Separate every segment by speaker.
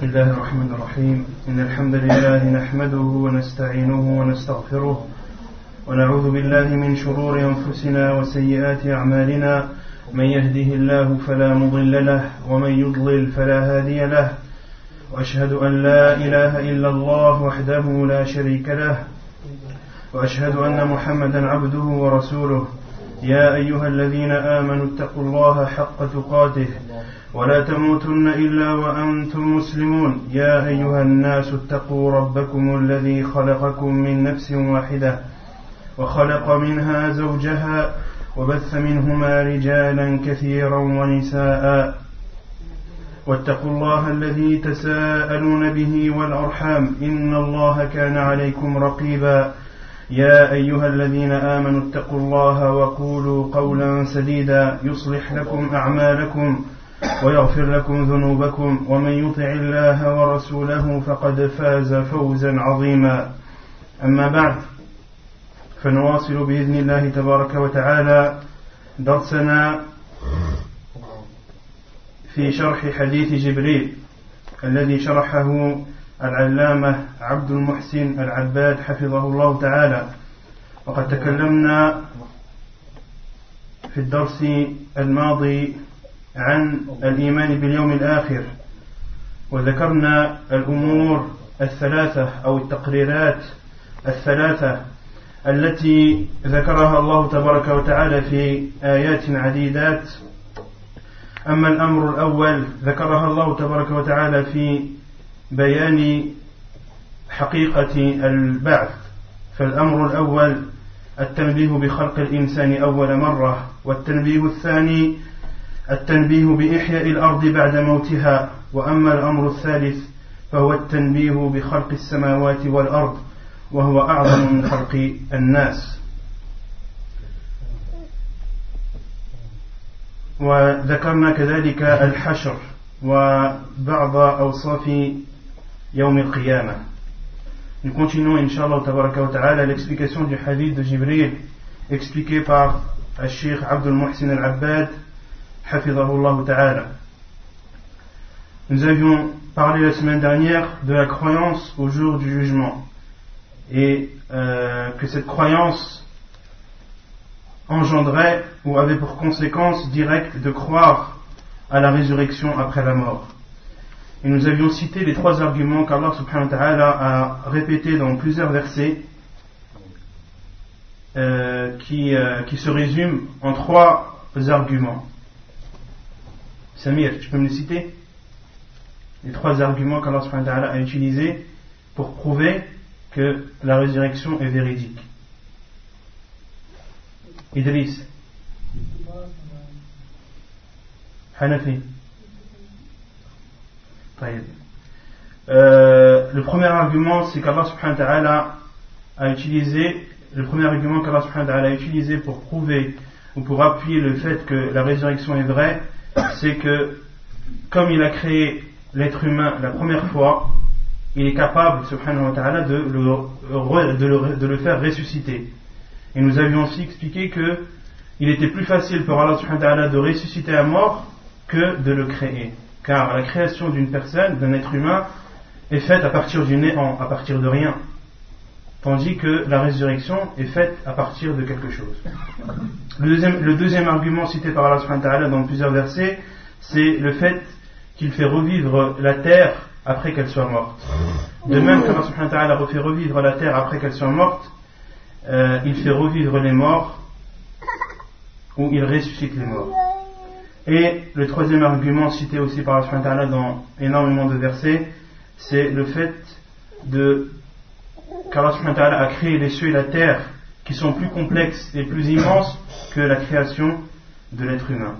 Speaker 1: الله الرحمن الرحيم إن الحمد لله نحمده ونستعينه ونستغفره ونعوذ بالله من شرور أنفسنا وسيئات أعمالنا من يهده الله فلا مضل له ومن يضلل فلا هادي له وأشهد أن لا إله إلا الله وحده لا شريك له وأشهد أن محمدا عبده ورسوله يا أيها الذين آمنوا اتقوا الله حق تقاته ولا تموتن إلا وأنتم مسلمون يا أيها الناس اتقوا ربكم الذي خلقكم من نفس واحدة وخلق منها زوجها وبث منهما رجالا كثيرا ونساء واتقوا الله الذي تساءلون به والأرحام إن الله كان عليكم رقيبا يا أيها الذين آمنوا اتقوا الله وقولوا قولا سديدا يصلح لكم أعمالكم ويغفر لكم ذنوبكم ومن يطع الله ورسوله فقد فاز فوزا عظيما أما بعد فنواصل بإذن الله تبارك وتعالى درسنا في شرح حديث جبريل الذي شرحه العلامة عبد المحسن العباد حفظه الله تعالى. وقد تكلمنا في الدرس الماضي عن الإيمان باليوم الآخر وذكرنا الأمور الثلاثة أو التقريرات الثلاثة التي ذكرها الله تبارك وتعالى في آيات عديدات. أما الأمر الأول ذكرها الله تبارك وتعالى في بيان حقيقة البعث، فالأمر الأول التنبيه بخلق الإنسان أول مرة، والتنبيه الثاني التنبيه بإحياء الأرض بعد موتها، وأما الأمر الثالث فهو التنبيه بخلق السماوات والأرض وهو أعظم من خلق الناس. وذكرنا كذلك الحشر وبعض أوصاف يوم القيامة. Nous continuons, Inch'Allah Tabaraka wa Ta'ala, l'explication du hadith de Jibril expliqué par Al-Sheikh Abdul Muhsin Al-Abbad Hafidhahullah Ta'ala. Nous avions parlé la semaine dernière de la croyance au jour du jugement et que cette croyance engendrait ou avait pour conséquence directe de croire à la résurrection après la mort. Et nous avions cité les trois arguments qu'Allah subhanahu wa ta'ala a répétés dans plusieurs versets qui se résument en trois arguments. Samir, tu peux me les citer? Les trois arguments qu'Allah subhanahu wa ta'ala a utilisés pour prouver que la résurrection est véridique. Idriss, Hanafi. Le premier argument, c'est qu'Allah subhanahu wa ta'ala a utilisé, le premier argument qu'Allah subhanahu wa ta'ala a utilisé pour prouver ou pour appuyer le fait que la résurrection est vraie, c'est que comme il a créé l'être humain la première fois, il est capable subhanahu wa ta'ala de le faire ressusciter. Et nous avions aussi expliqué que il était plus facile pour Allah subhanahu wa ta'ala de ressusciter un mort que de le créer. Car la création d'une personne, d'un être humain, est faite à partir du néant, à partir de rien. Tandis que la résurrection est faite à partir de quelque chose. Le deuxième argument cité par Allah subhanahu wa ta'ala dans plusieurs versets, c'est le fait qu'il fait revivre la terre après qu'elle soit morte. De même qu'Allah subhanahu wa ta'ala fait revivre la terre après qu'elle soit morte, il fait revivre les morts ou il ressuscite les morts. Et le troisième argument cité aussi par Allah subhanahu wa ta'ala dans énormément de versets, c'est le fait qu'Allah subhanahu wa ta'ala a créé les cieux et la terre qui sont plus complexes et plus immenses que la création de l'être humain.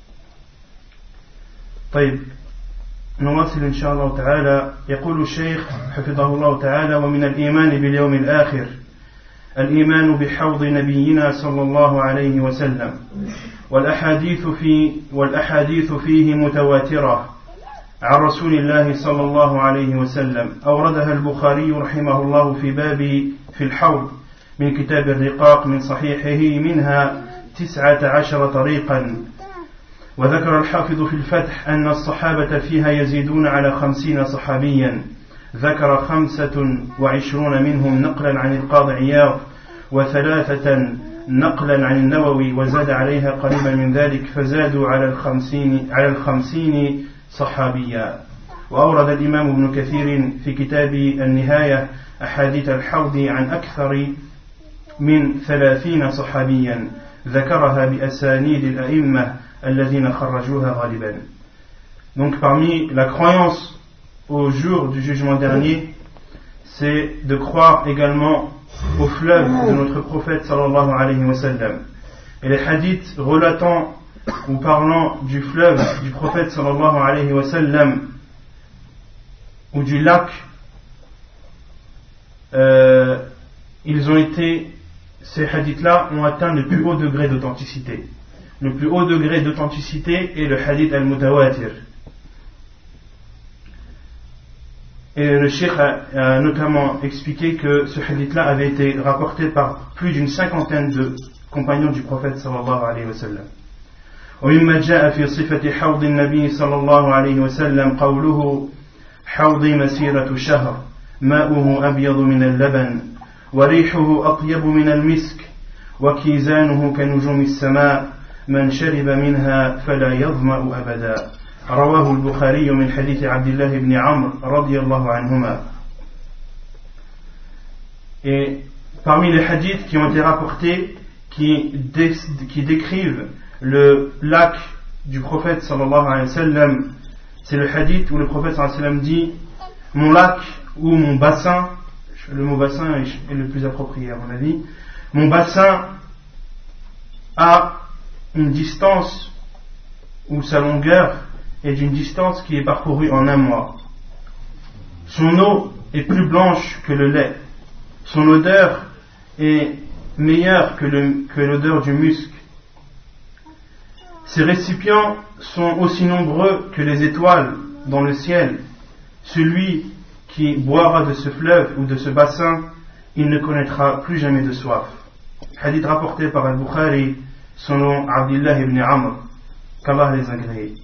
Speaker 1: طيب نواصل إن شاء الله تعالى. يقول الشيخ حفظه الله تعالى: ومن الإيمان باليوم الآخر الإيمان بحوض نبينا صلى الله عليه وسلم، والأحاديث فيه متواترة عن رسول الله صلى الله عليه وسلم، أوردها البخاري رحمه الله في باب في الحوض من كتاب الرقاق من صحيحه، منها 19 طريقا وذكر الحافظ في الفتح أن الصحابة فيها يزيدون على 50 صحابيا ذكر 25 منهم نقلا عن القاضي عياض و3 نقلا عن النووي وزاد عليها قريبا من ذلك فزادوا على الخمسين صحابيا. وأورد الإمام ابن كثير في كتاب النهاية أحاديث الحوض عن أكثر من 30 صحابيا ذكرها بأسانيد الأئمة الذين خرجوها غالبا. Donc parmi la croyance au jour du jugement dernier, c'est de croire également au fleuve de notre prophète sallallahu alayhi wa sallam. Et les hadiths relatant ou parlant du fleuve du prophète sallallahu alayhi wa sallam ou du lac, ces hadiths-là ont atteint le plus haut degré d'authenticité. Le plus haut degré d'authenticité est le hadith al-mutawatir. Et le cheikh a notamment expliqué que ce hadith-là avait été rapporté par plus d'une 50aine de compagnons du prophète sallallahu alayhi wa sallam. ومما جاء في صفة حوض النبي صلى الله عليه وسلم قوله حوضي مسيرة شهر ماؤه أبيض من اللبن وريحه أطيب من المسك وكيزانه كنجوم السماء من شرب منها فلا يظمأ أبدا. رواه البخاري من حديث عبد الله بن عمرو رضي الله عنهما. Et parmi les hadiths qui ont été rapportés qui décrivent le lac du prophète sallallahu alayhi wa sallam, c'est le hadith où le prophète sallallahu alayhi wa sallam dit mon lac ou mon bassin, le mot bassin est le plus approprié à mon avis, mon bassin a une distance ou sa longueur est d'une distance qui est parcourue en un mois. Son eau est plus blanche que le lait. Son odeur est meilleure que l'odeur du musc. Ses récipients sont aussi nombreux que les étoiles dans le ciel. Celui qui boira de ce fleuve ou de ce bassin, il ne connaîtra plus jamais de soif. Hadith rapporté par Al-Bukhari, son nom Abdullah ibn Amr, qu'Allah les agrée.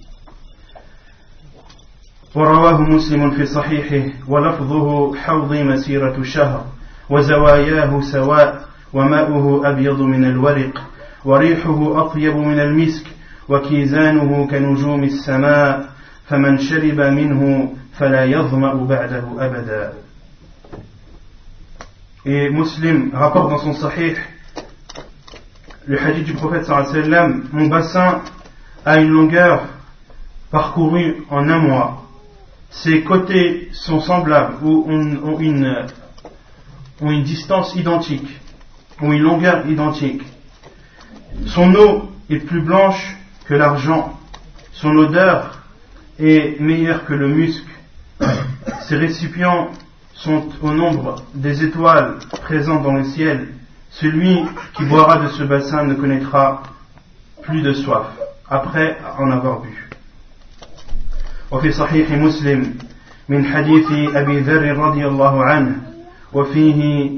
Speaker 1: ورواه مسلم في صحيحه ولفظه حوضي مسيرة شهر وزواياه سواء وماؤه أبيض من الورق وريحه أطيب من المسك وكيزانه كنجوم السماء فمن شرب منه فلا يظمأ بعده أبدا. Et Muslim rapporte dans son sahih le hadith du prophète sallallahu alayhi wa sallam, mon bassin a une longueur parcourue en un mois. Ses côtés sont semblables ou ont une distance identique, ou une longueur identique. Son eau est plus blanche que l'argent, son odeur est meilleure que le musc. Ses récipients sont au nombre des étoiles présentes dans le ciel. Celui qui boira de ce bassin ne connaîtra plus de soif après en avoir bu. وفي صحيح مسلم من حديث أبي ذر رضي الله عنه وفيه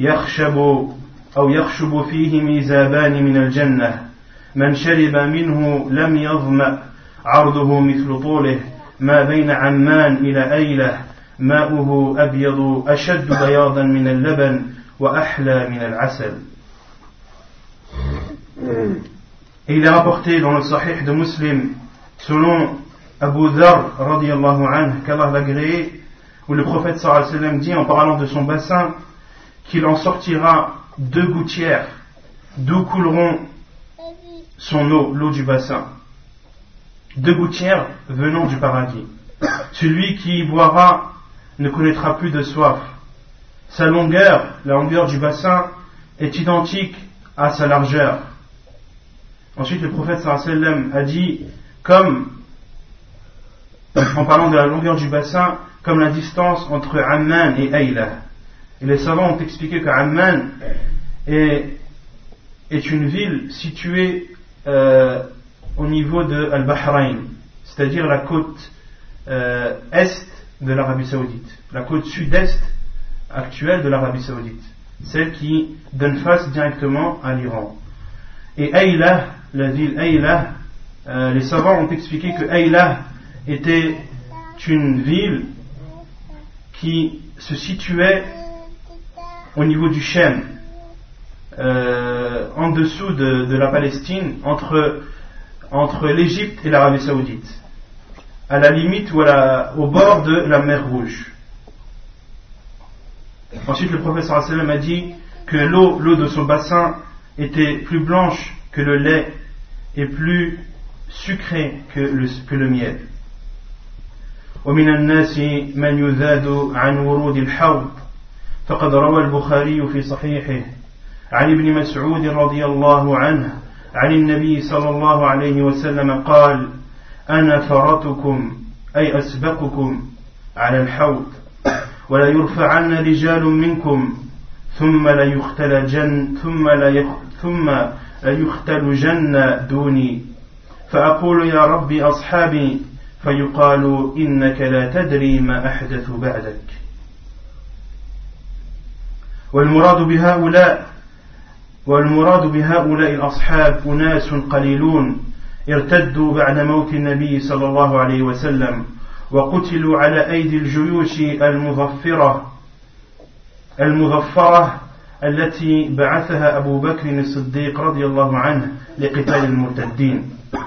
Speaker 1: يخشب فيه ميزابان من الجنة من شرب منه لم يظمأ عرضه مثل طوله ما بين عمان إلى أيلة ماؤه أبيض أشد بياضا من اللبن وأحلى من العسل. Et il est rapporté dans le Sahih de Muslim selon Abu Dharr radiyallahu anhu, qu'Allah l'agréé, où le prophète sallallahu alayhi wa sallam dit en parlant de son bassin qu'il en sortira 2 gouttières d'où couleront son eau, l'eau du bassin. 2 gouttières venant du paradis. Celui qui y boira ne connaîtra plus de soif. Sa longueur, la longueur du bassin, est identique à sa largeur. Ensuite, le prophète sallallahu alayhi wa sallam a dit, en parlant de la longueur du bassin, comme la distance entre Amman et Ayla. Et les savants ont expliqué que Amman est une ville située au niveau de Al-Bahrain, c'est-à-dire la côte est de l'Arabie Saoudite, la côte sud-est actuelle de l'Arabie Saoudite, celle qui donne face directement à l'Iran. Et Ayla, la ville Ayla, les savants ont expliqué que Ayla était une ville qui se situait au niveau du Shem, en dessous de la Palestine, entre l'Égypte et l'Arabie Saoudite, à la limite ou au bord de la mer Rouge. Ensuite, le prophète sallallahu alayhi wa sallam a dit que l'eau de son bassin était plus blanche que le lait et plus sucrée que le miel. ومن الناس من يذاد عن ورود الحوض فقد روى البخاري في صحيحه عن ابن مسعود رضي الله عنه عن النبي صلى الله عليه وسلم قال أنا فرطكم أي أسبقكم على الحوض ولا يرفعن رجال منكم ثم ليختلجن دوني فأقول يا ربي أصحابي فيقال إنك لا تدري ما أحدث بعدك والمراد بهؤلاء الأصحاب أناس قليلون ارتدوا بعد موت النبي صلى الله عليه وسلم وقتلوا على أيدي الجيوش المظفرة التي بعثها أبو بكر الصديق رضي الله عنه لقتال المرتدين.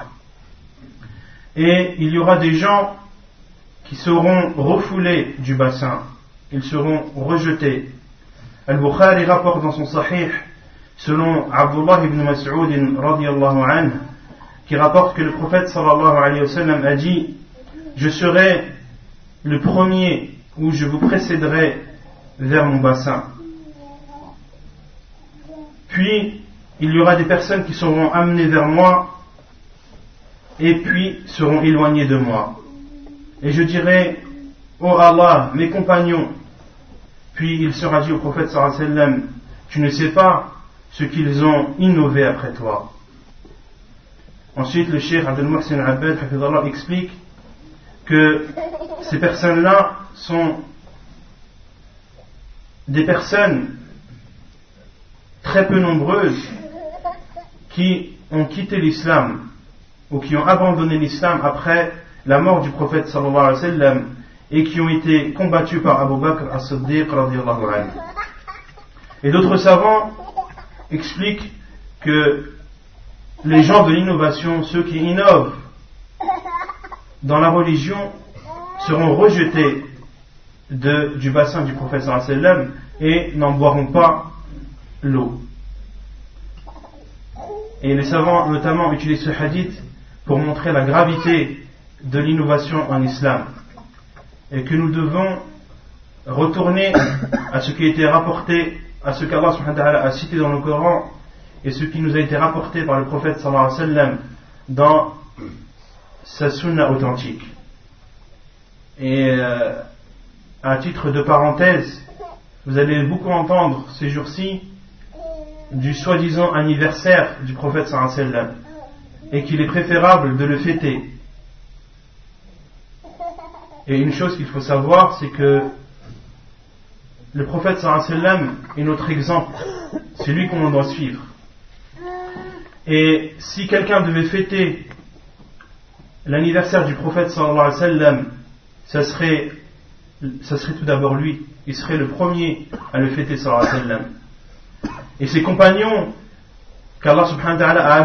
Speaker 1: Et il y aura des gens qui seront refoulés du bassin, ils seront rejetés. Al-Bukhari rapporte dans son Sahih, selon Abdullah ibn Mas'ud radiyallahu anhu, qui rapporte que le prophète sallallahu alayhi wa sallam a dit: je serai le premier ou je vous précéderai vers mon bassin. Puis il y aura des personnes qui seront amenées vers moi et puis seront éloignées de moi. Et je dirai: ô Allah, mes compagnons. Puis il sera dit au prophète sallallahu alayhi wa sallam: tu ne sais pas ce qu'ils ont innové après toi. Ensuite, le cheikh Abdel Muhsin Abbad hafidhallah explique que ces personnes-là sont des personnes très peu nombreuses qui ont quitté l'islam ou qui ont abandonné l'islam après la mort du prophète sallallahu alayhi wa sallam et qui ont été combattus par Abu Bakr as-Siddiq radiyallahu anhu. Et d'autres savants expliquent que les gens de l'innovation, ceux qui innovent dans la religion, seront rejetés du bassin du prophète sallallahu alayhi wa sallam et n'en boiront pas l'eau. Et les savants notamment utilisent ce hadith pour montrer la gravité de l'innovation en islam et que nous devons retourner à ce qui a été rapporté, à ce qu'Allah subhanahu wa ta'ala a cité dans le Coran et ce qui nous a été rapporté par le prophète sallallahu alayhi wa sallam dans sa sunna authentique. Et à titre de parenthèse, vous allez beaucoup entendre ces jours-ci du soi-disant anniversaire du prophète sallallahu alayhi wa sallam et qu'il est préférable de le fêter. Et une chose qu'il faut savoir, c'est que le prophète sallallahu alayhi wa sallam est notre exemple, c'est lui qu'on doit suivre. Et si quelqu'un devait fêter l'anniversaire du prophète sallallahu alayhi wa sallam, ça serait tout d'abord lui, il serait le premier à le fêter sallallahu alayhi wa sallam. Et ses compagnons qu'Allah subhanahu wa ta'ala a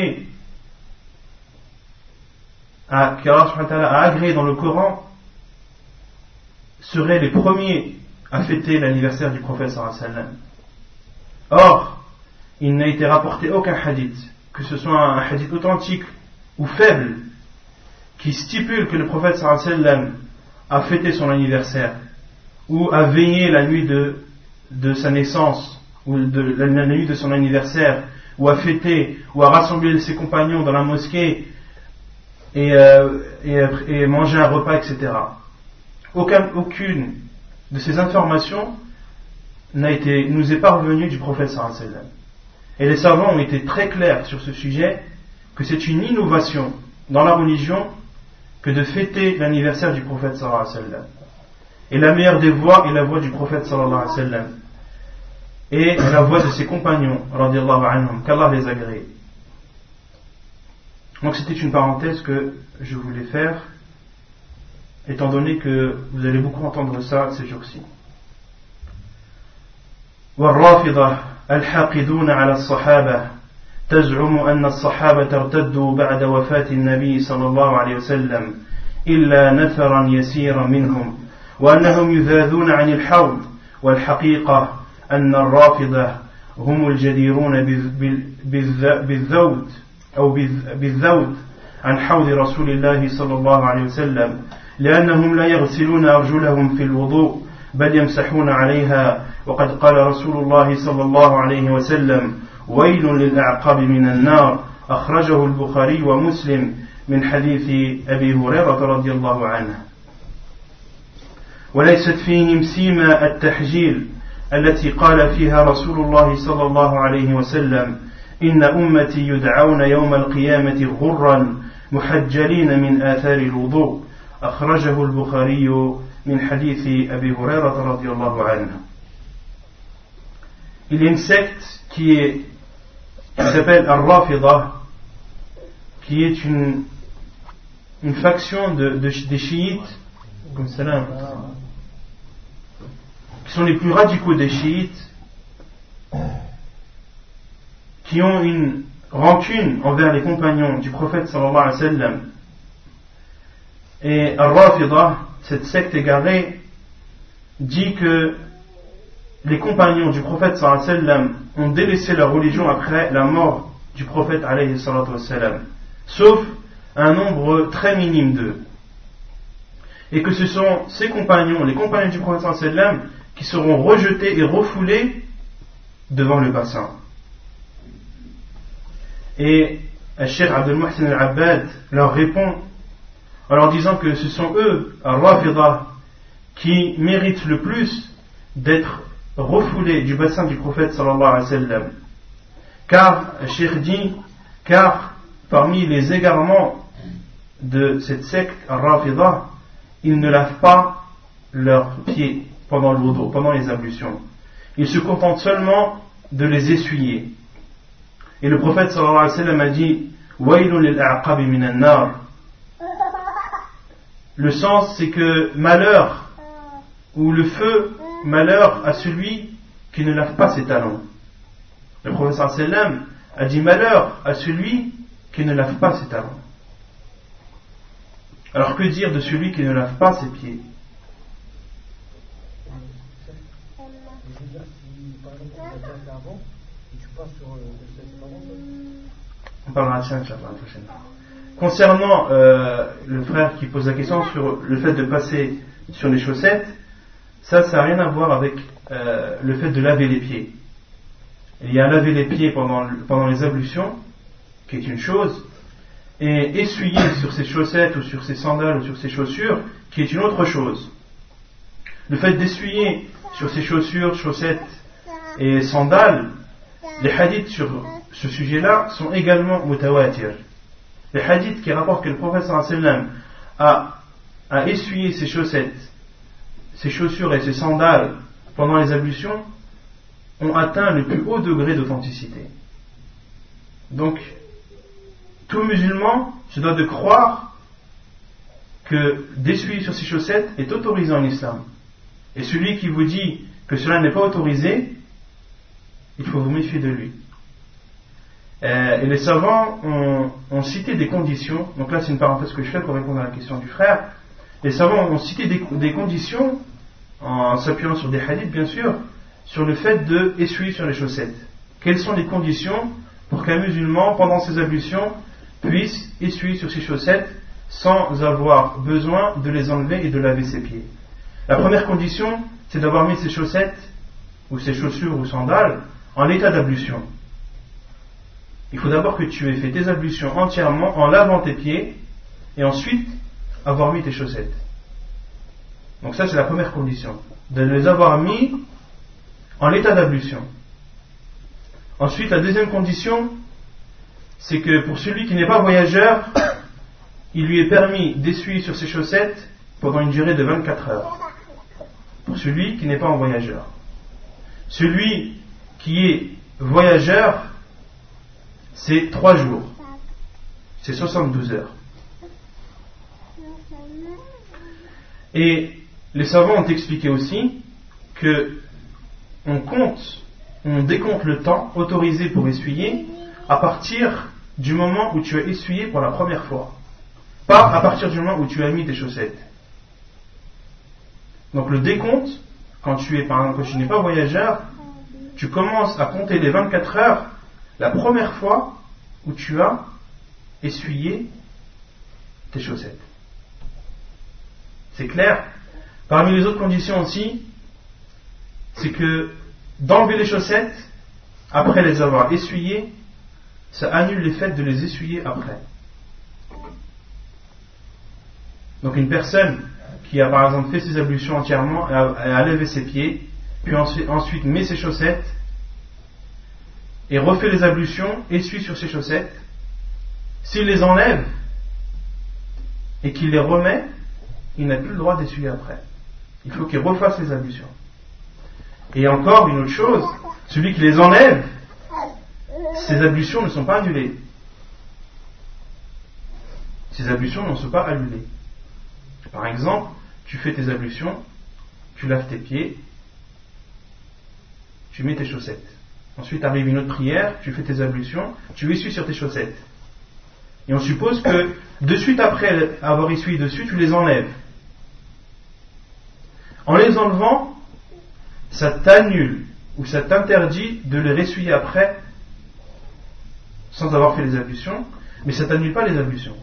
Speaker 1: agréé dans le Coran seraient les premiers à fêter l'anniversaire du prophète sallallahu alayhi wa sallam. Or, il n'a été rapporté aucun hadith, que ce soit un hadith authentique ou faible, qui stipule que le prophète sallallahu alayhi wa sallam a fêté son anniversaire ou a veillé la nuit de sa naissance ou la nuit de son anniversaire, ou a fêté ou a rassemblé ses compagnons dans la mosquée et mangé un repas, etc. Aucune de ces informations nous est parvenue du prophète sallallahu alayhi wa sallam. Et les savants ont été très clairs sur ce sujet, que c'est une innovation dans la religion que de fêter l'anniversaire du prophète sallallahu alayhi wa sallam. Et la meilleure des voies est la voie du prophète sallallahu alayhi wa sallam et la voie de ses compagnons radiyallahu anhum, qu'Allah les agrée. Donc c'était une parenthèse que je voulais faire, étant donné que vous allez beaucoup entendre ça ces jours-ci. والرافضة الحاقدون على الصحابة تزعم أن الصحابة ارتدوا بعد وفاة النبي صلى الله عليه وسلم إلا نفرا يسيرا منهم وأنهم يذاذون عن الحوض والحقيقة أن الرافضة هم الجديرون بالذود أو بالذود عن حوض رسول الله صلى الله عليه وسلم لأنهم لا يغسلون أرجلهم في الوضوء بل يمسحون عليها وقد قال رسول الله صلى الله عليه وسلم ويل للأعقاب من النار أخرجه البخاري ومسلم من حديث أبي هريرة رضي الله عنه وليست فيهم سيما التحجيل التي قال فيها رسول الله صلى الله عليه وسلم إن أمتي يدعون يوم القيامة غرا محجلين من آثار الوضوء أخرجه البخاري من حديث أبي هريرة رضي الله عنه. Il y a une secte qui s'appelle Al-Rafida, qui est une faction des chiites, comme ça, qui sont les plus radicaux des chiites, qui ont une rancune envers les compagnons du prophète sallallahu alayhi wa sallam. Et Al-Rafida, cette secte égarée, dit que les compagnons du prophète sallallahu alayhi wa sallam ont délaissé leur religion après la mort du prophète alayhi salatu wa sallam, sauf un nombre très minime d'eux. Et que ce sont ces compagnons, les compagnons du prophète sallallahu alayhi wa sallam, qui seront rejetés et refoulés devant le bassin. Et Cheikh Abdel Mohsen Al-Abbad leur répond en leur disant que ce sont eux, Al-Rafida, qui méritent le plus d'être refoulés du bassin du prophète sallallahu alayhi wa sallam. Car, Cheikh dit, car parmi les égarements de cette secte Al-Rafida, ils ne lavent pas leurs pieds pendant le wudu, pendant les ablutions. Ils se contentent seulement de les essuyer. Et le prophète sallallahu alayhi wa sallam a dit Waylun lil a'qabi minan nar. Le sens c'est que malheur, ou le feu, malheur à celui qui ne lave pas ses talons. Le prophète sallallahu alayhi wa sallam a dit malheur à celui qui ne lave pas ses talons. Alors que dire de celui qui ne lave pas ses pieds? On parlera de ça, Inch'Allah, la prochaine fois. Concernant le frère qui pose la question sur le fait de passer sur les chaussettes, ça n'a rien à voir avec le fait de laver les pieds. Il y a laver les pieds pendant les ablutions, qui est une chose, et essuyer sur ses chaussettes ou sur ses sandales ou sur ses chaussures, qui est une autre chose. Le fait d'essuyer sur ses chaussures, chaussettes et sandales, les hadiths sur ce sujet-là sont également mutawatir. Les hadiths qui rapportent que le prophète sallallahu alayhi wa sallam a essuyé ses chaussettes, ses chaussures et ses sandales pendant les ablutions ont atteint le plus haut degré d'authenticité. Donc, tout musulman se doit de croire que d'essuyer sur ses chaussettes est autorisé en islam. Et celui qui vous dit que cela n'est pas autorisé, il faut vous méfier de lui. Et les savants ont cité des conditions, donc là c'est une parenthèse que je fais pour répondre à la question du frère. Les savants ont cité des conditions, en s'appuyant sur des hadiths bien sûr, sur le fait de essuyer sur les chaussettes. Quelles sont les conditions pour qu'un musulman, pendant ses ablutions, puisse essuyer sur ses chaussettes sans avoir besoin de les enlever et de laver ses pieds? La première condition, c'est d'avoir mis ses chaussettes, ou ses chaussures ou sandales, en l'état d'ablution. Il faut d'abord que tu aies fait tes ablutions entièrement en lavant tes pieds et ensuite avoir mis tes chaussettes. Donc ça c'est la première condition, de les avoir mis en l'état d'ablution. Ensuite la deuxième condition, c'est que pour celui qui n'est pas voyageur, il lui est permis d'essuyer sur ses chaussettes pendant une durée de 24 heures. Pour celui qui n'est pas en voyageur. Celui qui est voyageur, c'est 3 jours. c'est 72 heures. Et les savants ont expliqué aussi que on décompte le temps autorisé pour essuyer à partir du moment où tu as essuyé pour la première fois, pas à partir du moment où tu as mis tes chaussettes. Donc le décompte, quand tu n'es pas voyageur, tu commences à compter les 24 heures la première fois où tu as essuyé tes chaussettes. C'est clair? Parmi les autres conditions aussi, c'est que d'enlever les chaussettes après les avoir essuyées, ça annule l'effet de les essuyer après. Donc une personne qui a par exemple fait ses ablutions entièrement, a levé ses pieds, puis ensuite met ses chaussettes et refait les ablutions, essuie sur ses chaussettes, s'il les enlève et qu'il les remet, il n'a plus le droit d'essuyer après. Il faut qu'il refasse les ablutions. Et encore une autre chose, celui qui les enlève, ses ablutions ne sont pas annulées. Ces ablutions ne sont pas annulées. Par exemple, tu fais tes ablutions, tu laves tes pieds, tu mets tes chaussettes. Ensuite arrive une autre prière, tu fais tes ablutions, tu essuies sur tes chaussettes. Et on suppose que de suite après avoir essuyé dessus, tu les enlèves. En les enlevant, ça t'annule ou ça t'interdit de les ressuyer après sans avoir fait les ablutions, mais ça t'annule pas les ablutions.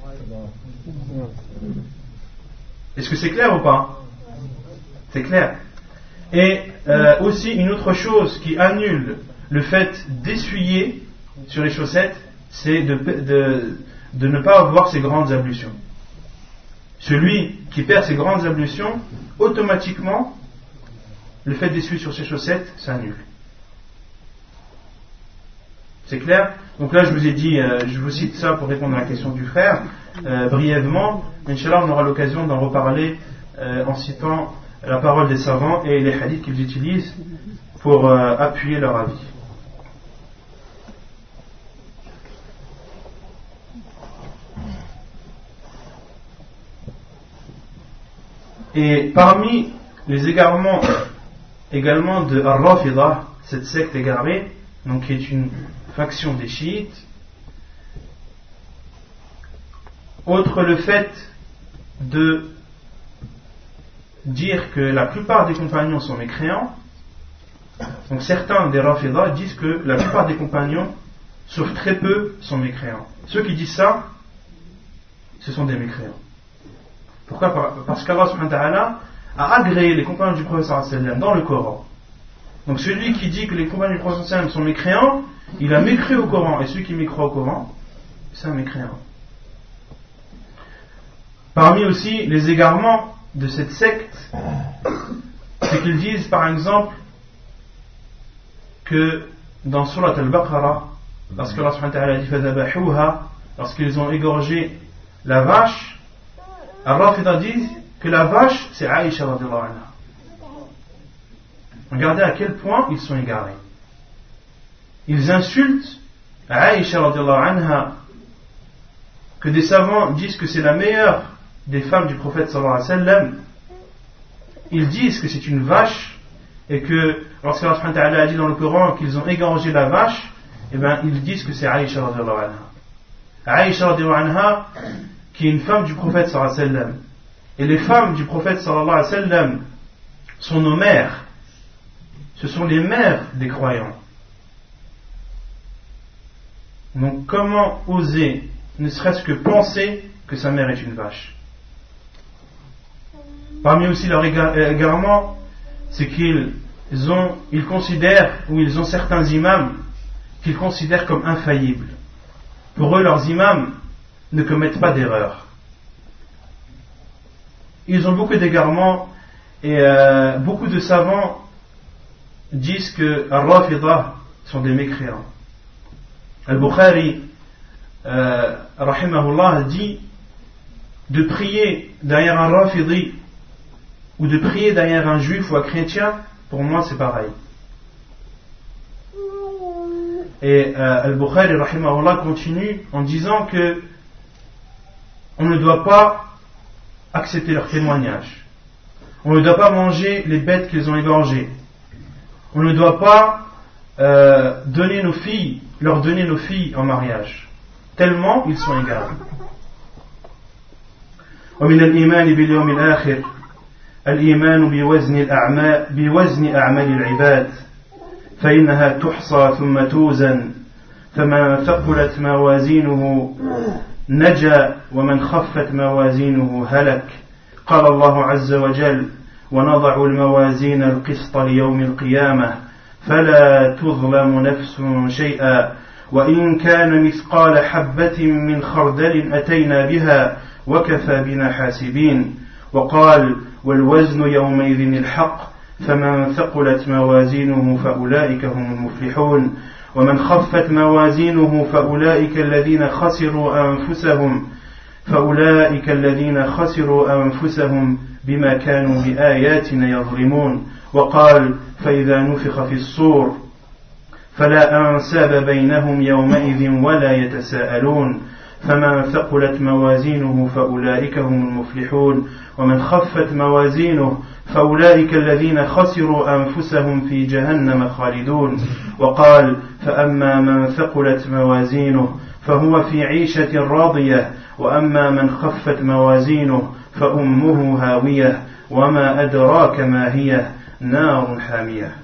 Speaker 1: Est-ce que c'est clair ou pas? C'est clair. Et aussi une autre chose qui annule le fait d'essuyer sur les chaussettes, c'est de ne pas avoir ces grandes ablutions. Celui qui perd ses grandes ablutions, automatiquement, le fait d'essuyer sur ses chaussettes, ça annule. C'est clair? Donc là, je vous ai dit, je vous cite ça pour répondre à la question du frère, brièvement. Inch'Allah, on aura l'occasion d'en reparler en citant la parole des savants et les hadiths qu'ils utilisent pour appuyer leur avis. Et parmi les égarements également de Ar-Rafidah, cette secte égarée, donc qui est une faction des chiites, outre le fait de dire que la plupart des compagnons sont mécréants, donc certains des Rafidah disent que la plupart des compagnons, sauf très peu, sont mécréants. Ceux qui disent ça, ce sont des mécréants. Pourquoi? Parce qu'Allah subhanahu wa ta'ala a agréé les compagnons du prophète sallallahu alayhi wa sallam dans le Coran. Donc celui qui dit que les compagnons du prophète sallallahu alayhi wa sallam sont mécréants, il a mécru au Coran, et celui qui mécroit au Coran, c'est un mécréant. Parmi aussi les égarements de cette secte, c'est qu'ils disent par exemple que dans Surat al-Baqarah, lorsque Allah subhanahu wa ta'ala dit fadhabahuha, lorsqu'ils ont égorgé la vache, Ar-Rafidah disent que la vache c'est Aïcha radhiyallahu anha. Regardez à quel point ils sont égarés. Ils insultent Aïcha radhiyallahu anha, que des savants disent que c'est la meilleure des femmes du prophète sallallahu alayhi wa sallam. Ils disent que c'est une vache et que lorsqu'Allah subhanahu wa ta'ala a dit dans le Coran qu'ils ont égorgé la vache, eh bien ils disent que c'est Aïcha radhiyallahu anha. Aïcha radhiyallahu anha, qui est une femme du prophète sallallahu alayhi wa sallam. Et les femmes du prophète sallallahu alayhi wa sallam sont nos mères. Ce sont les mères des croyants. Donc comment oser, ne serait-ce que penser que sa mère est une vache? Parmi aussi leurs égarements, c'est qu'ils considèrent, ou ils ont certains imams qu'ils considèrent comme infaillibles. Pour eux, leurs imams ne commettent pas d'erreur. Ils ont beaucoup d'égarements et beaucoup de savants disent que Ar-Rafidah sont des mécréants. Al-Bukhari rahimahullah dit de prier derrière un Rafidi ou de prier derrière un juif ou un chrétien, pour moi c'est pareil. Et Al-Bukhari rahimahullah continue en disant que on ne doit pas accepter leur témoignage. On ne doit pas manger les bêtes qu'ils ont égorgées. On ne doit pas leur donner nos filles en mariage, tellement ils sont égaux. ومن الإيمان باليوم الآخر الإيمان بوزن أعمال العباد فإنها تحصى ثم توزن فمن ثقلت موازينه نجا ومن خفت موازينه هلك قال الله عز وجل ونضع الموازين القسط ليوم القيامة فلا تظلم نفس شيئا وإن كان مثقال حبة من خردل أتينا بها وكفى بنا حاسبين وقال والوزن يومئذ الحق فمن ثقلت موازينه فأولئك هم المفلحون ومن خفت موازينه فأولئك الذين خسروا أنفسهم بما كانوا بآياتنا يظلمون وقال فإذا نفخ في الصور فلا أنساب بينهم يومئذ ولا يتساءلون فمن ثقلت موازينه فأولئك هم المفلحون ومن خفت موازينه فأولئك الذين خسروا أنفسهم في جهنم خالدون وقال فأما من ثقلت موازينه فهو في عيشة راضية وأما من خفت موازينه فأمه هاوية وما أدراك ما هي نار حامية.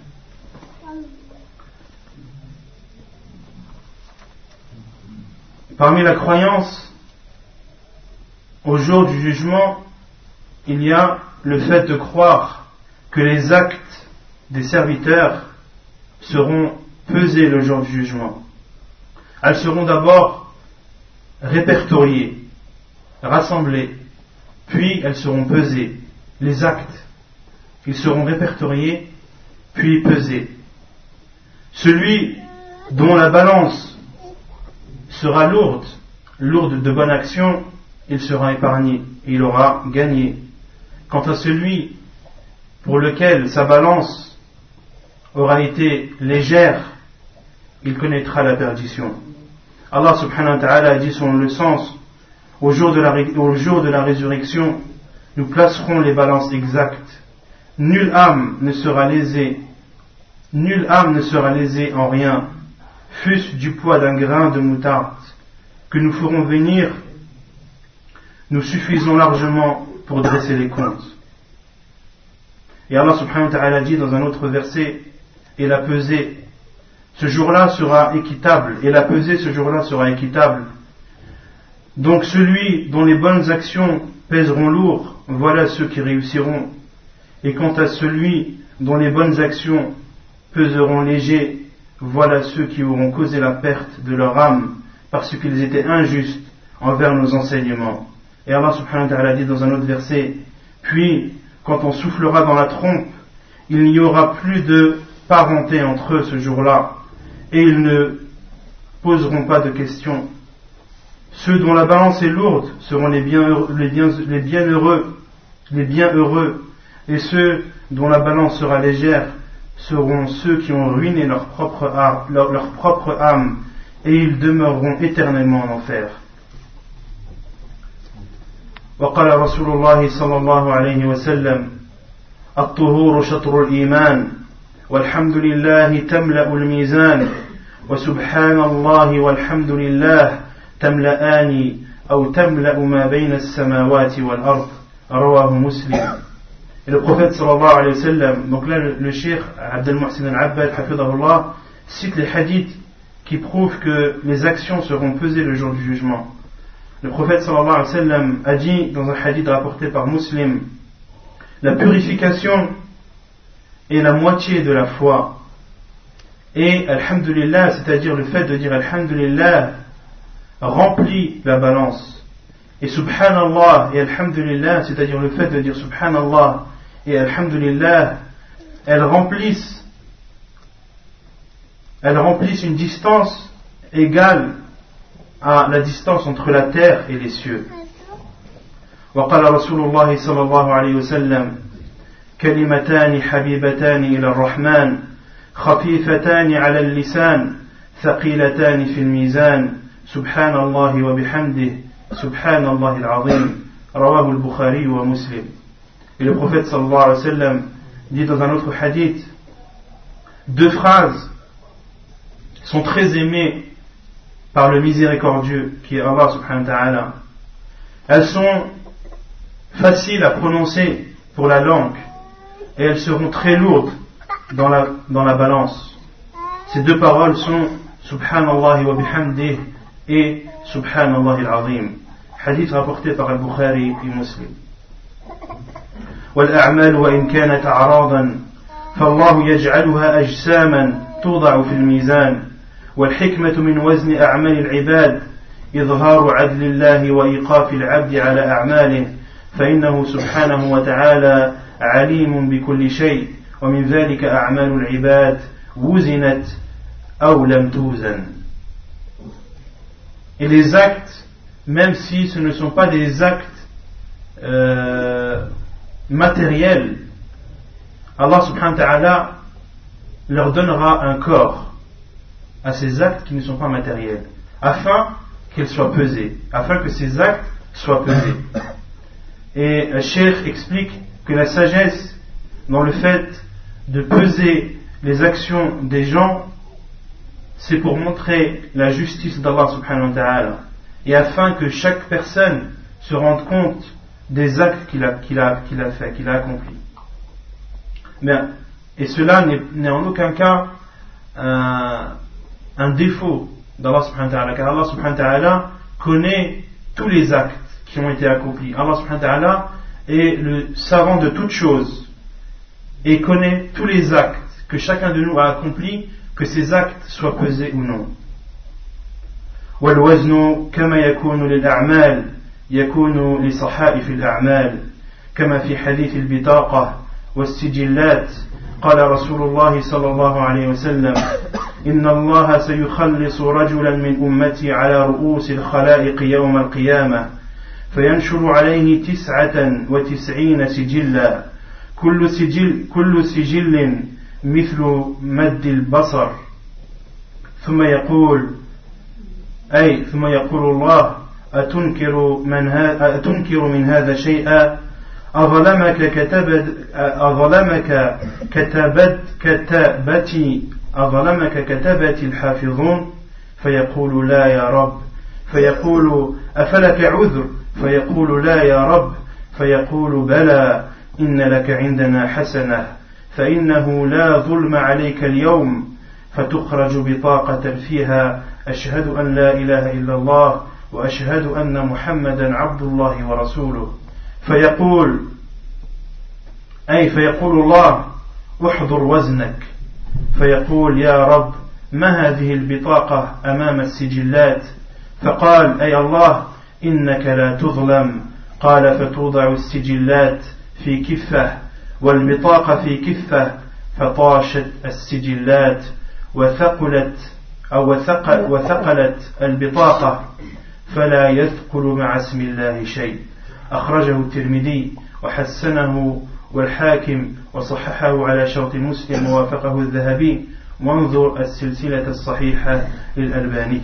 Speaker 1: Parmi la croyance au jour du jugement, il y a le fait de croire que les actes des serviteurs seront pesés le jour du jugement. Elles seront d'abord répertoriées, rassemblées, puis elles seront pesées. Les actes, ils seront répertoriés, puis pesés. Celui dont la balance sera lourde de bonnes actions, il sera épargné, il aura gagné. Quant à celui pour lequel sa balance aura été légère, il connaîtra la perdition. Allah subhanahu wa ta'ala a dit selon le sens, au jour de la résurrection, nous placerons les balances exactes. Nulle âme ne sera lésée en rien, fût-ce du poids d'un grain de moutarde, que nous ferons venir, nous suffisons largement pour dresser les comptes. Et Allah subhanahu wa ta'ala dit dans un autre verset, et la pesée, ce jour-là sera équitable, et la pesée ce jour-là sera équitable. Donc celui dont les bonnes actions pèseront lourd, voilà ceux qui réussiront. Et quant à celui dont les bonnes actions peseront léger, voilà ceux qui auront causé la perte de leur âme parce qu'ils étaient injustes envers nos enseignements. Et Allah subhanahu wa ta'ala dit dans un autre verset, puis quand on soufflera dans la trompe, il n'y aura plus de parenté entre eux ce jour-là, et ils ne poseront pas de questions. Ceux dont la balance est lourde seront les bienheureux, et ceux dont la balance sera légère seront ceux qui ont ruiné leur propre âme, et ils demeureront éternellement en enfer. وقال رسول الله صلى الله عليه وسلم الطهور شطر الإيمان والحمد لله تملأ الميزان وسبحان الله والحمد لله تملأان أو تملأ ما بين السماوات والأرض رواه مسلم. Et le prophète sallallahu alayhi wa sallam, donc là le cheikh Abdel Muhsin al-Abbad hafidahullah cite les hadiths qui prouvent que les actions seront pesées le jour du jugement. Le prophète sallallahu alayhi wa sallam a dit dans un hadith rapporté par Muslim, la purification est la moitié de la foi, et alhamdulillah, c'est-à-dire le fait de dire alhamdulillah, remplit la balance, et subhanallah et alhamdulillah, c'est-à-dire le fait de dire subhanallah et alhamdulillah, elles remplissent une distance égale à la distance entre la terre et les cieux. وقال رسول الله صلى الله عليه وسلم كلمتان حبيبتان إلى الرحمن خفيفتان على اللسان ثقيلتان في الميزان سبحان الله وبحمده Subhanallah al-Azim, rawahu al-Bukhari wa Muslim. Et le prophète sallallahu alayhi wa sallam dit dans un autre hadith, deux phrases sont très aimées par le miséricordieux qui est Allah subhanahu wa ta'ala. Elles sont faciles à prononcer pour la langue et elles seront très lourdes dans la balance. Ces deux paroles sont Subhanallah wa bihamdih et Subhanallah al-Azim. Hadith rapporté par al-Bukhari et Muslim. والأعمال وإن كانت أعراضا فالله يجعلها أجساما توضع في الميزان والحكمة من وزن أعمال العباد إظهار عدل الله وإيقاف العبد على أعماله فإنه سبحانه وتعالى عليم بكل شيء ومن ذلك أعمال العباد وزنت أو لم توزن. Et les actes, même si ce ne sont pas des actes matériels, Allah subhanahu wa ta'ala leur donnera un corps à ces actes qui ne sont pas matériels, afin qu'ils soient pesés, afin que ces actes soient pesés. Et le Cheikh explique que la sagesse dans le fait de peser les actions des gens, c'est pour montrer la justice d'Allah subhanahu wa ta'ala, et afin que chaque personne se rende compte des actes qu'il a fait, qu'il a accomplis. Bien, et cela n'est en aucun cas un défaut d'Allah subhanahu wa ta'ala, car Allah subhanahu wa ta'ala connaît tous les actes qui ont été accomplis. Allah subhanahu wa ta'ala est le savant de toutes choses et connaît tous les actes que chacun de nous a accomplis, que ces actes soient pesés ou non. والوزن كما يكون للأعمال يكون لصحائف الأعمال كما في حديث البطاقة والسجلات قال رسول الله صلى الله عليه وسلم إن الله سيخلص رجلا من أمتي على رؤوس الخلائق يوم القيامة فينشر عليه 99 سجلا كل سجل مثل مد البصر ثم يقول الله أتنكر من هذا شيئا أظلمك كتبتي الحافظون فيقول لا يا رب فيقول أفلك عذر فيقول لا يا رب فيقول بلى إن لك عندنا حسنة فإنه لا ظلم عليك اليوم فتخرج بطاقة فيها أشهد أن لا إله إلا الله وأشهد أن محمدا عبد الله ورسوله فيقول الله احضر وزنك فيقول يا رب ما هذه البطاقة أمام السجلات فقال أي الله إنك لا تظلم قال فتوضع السجلات في كفة والبطاقة في كفة فطاشت السجلات وثقلت البطاقة فلا يثقل مع اسم الله شيء أخرجه الترمذي وحسنه والحاكم وصححه على شرط مسلم ووافقه الذهبي وانظر السلسلة الصحيحة للألباني.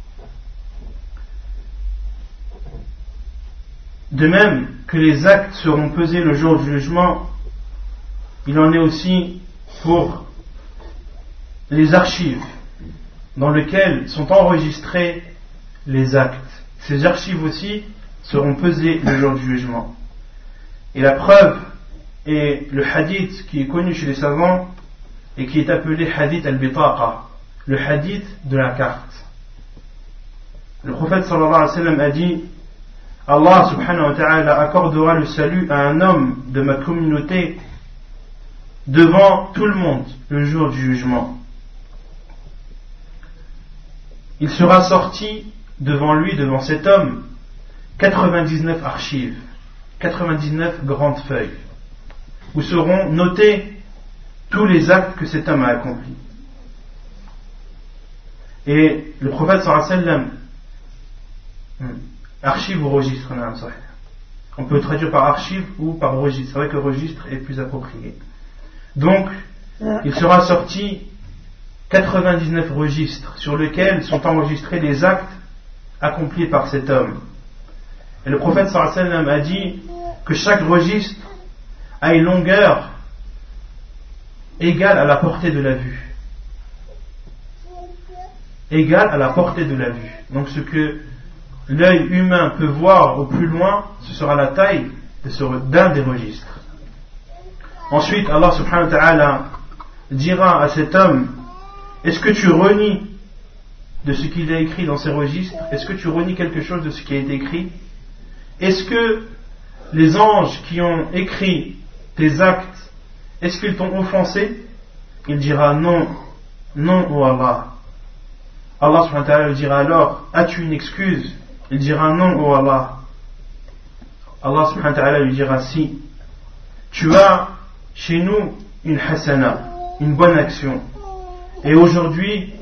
Speaker 1: De même que les actes seront pesés le jour du jugement, il en est aussi pour les archives dans lesquelles sont enregistrés les actes. Ces archives aussi seront pesées le jour du jugement. Et la preuve est le hadith qui est connu chez les savants et qui est appelé hadith al-bitaqa, le hadith de la carte. Le prophète sallallahu alayhi wa sallam a dit: Allah subhanahu wa ta'ala accordera le salut à un homme de ma communauté devant tout le monde le jour du jugement. Il sera sorti devant lui, devant cet homme, 99 archives, 99 grandes feuilles, où seront notés tous les actes que cet homme a accomplis. Et le prophète sallallahu alayhi wa sallam, archive ou registre, on peut traduire par archive ou par registre. C'est vrai que registre est plus approprié. Donc, il sera sorti 99 registres sur lesquels sont enregistrés les actes accomplis par cet homme. Et le prophète sallallahu alayhi wa sallam a dit que chaque registre a une longueur égale à la portée de la vue. Égale à la portée de la vue. Donc ce que l'œil humain peut voir au plus loin, ce sera la taille d'un des registres. Ensuite, Allah subhanahu wa ta'ala dira à cet homme: est-ce que tu renies de ce qu'il a écrit dans ces registres? Est-ce que tu renies quelque chose de ce qui a été écrit? Est-ce que les anges qui ont écrit tes actes, est-ce qu'ils t'ont offensé? Il dira non, non, ô Allah. Allah subhanahu wa ta'ala lui dira alors: as-tu une excuse? Il dira non, ô Allah. Allah subhanahu wa ta'ala lui dira: si. Tu as chez nous une hasana, une bonne action. Et aujourd'hui,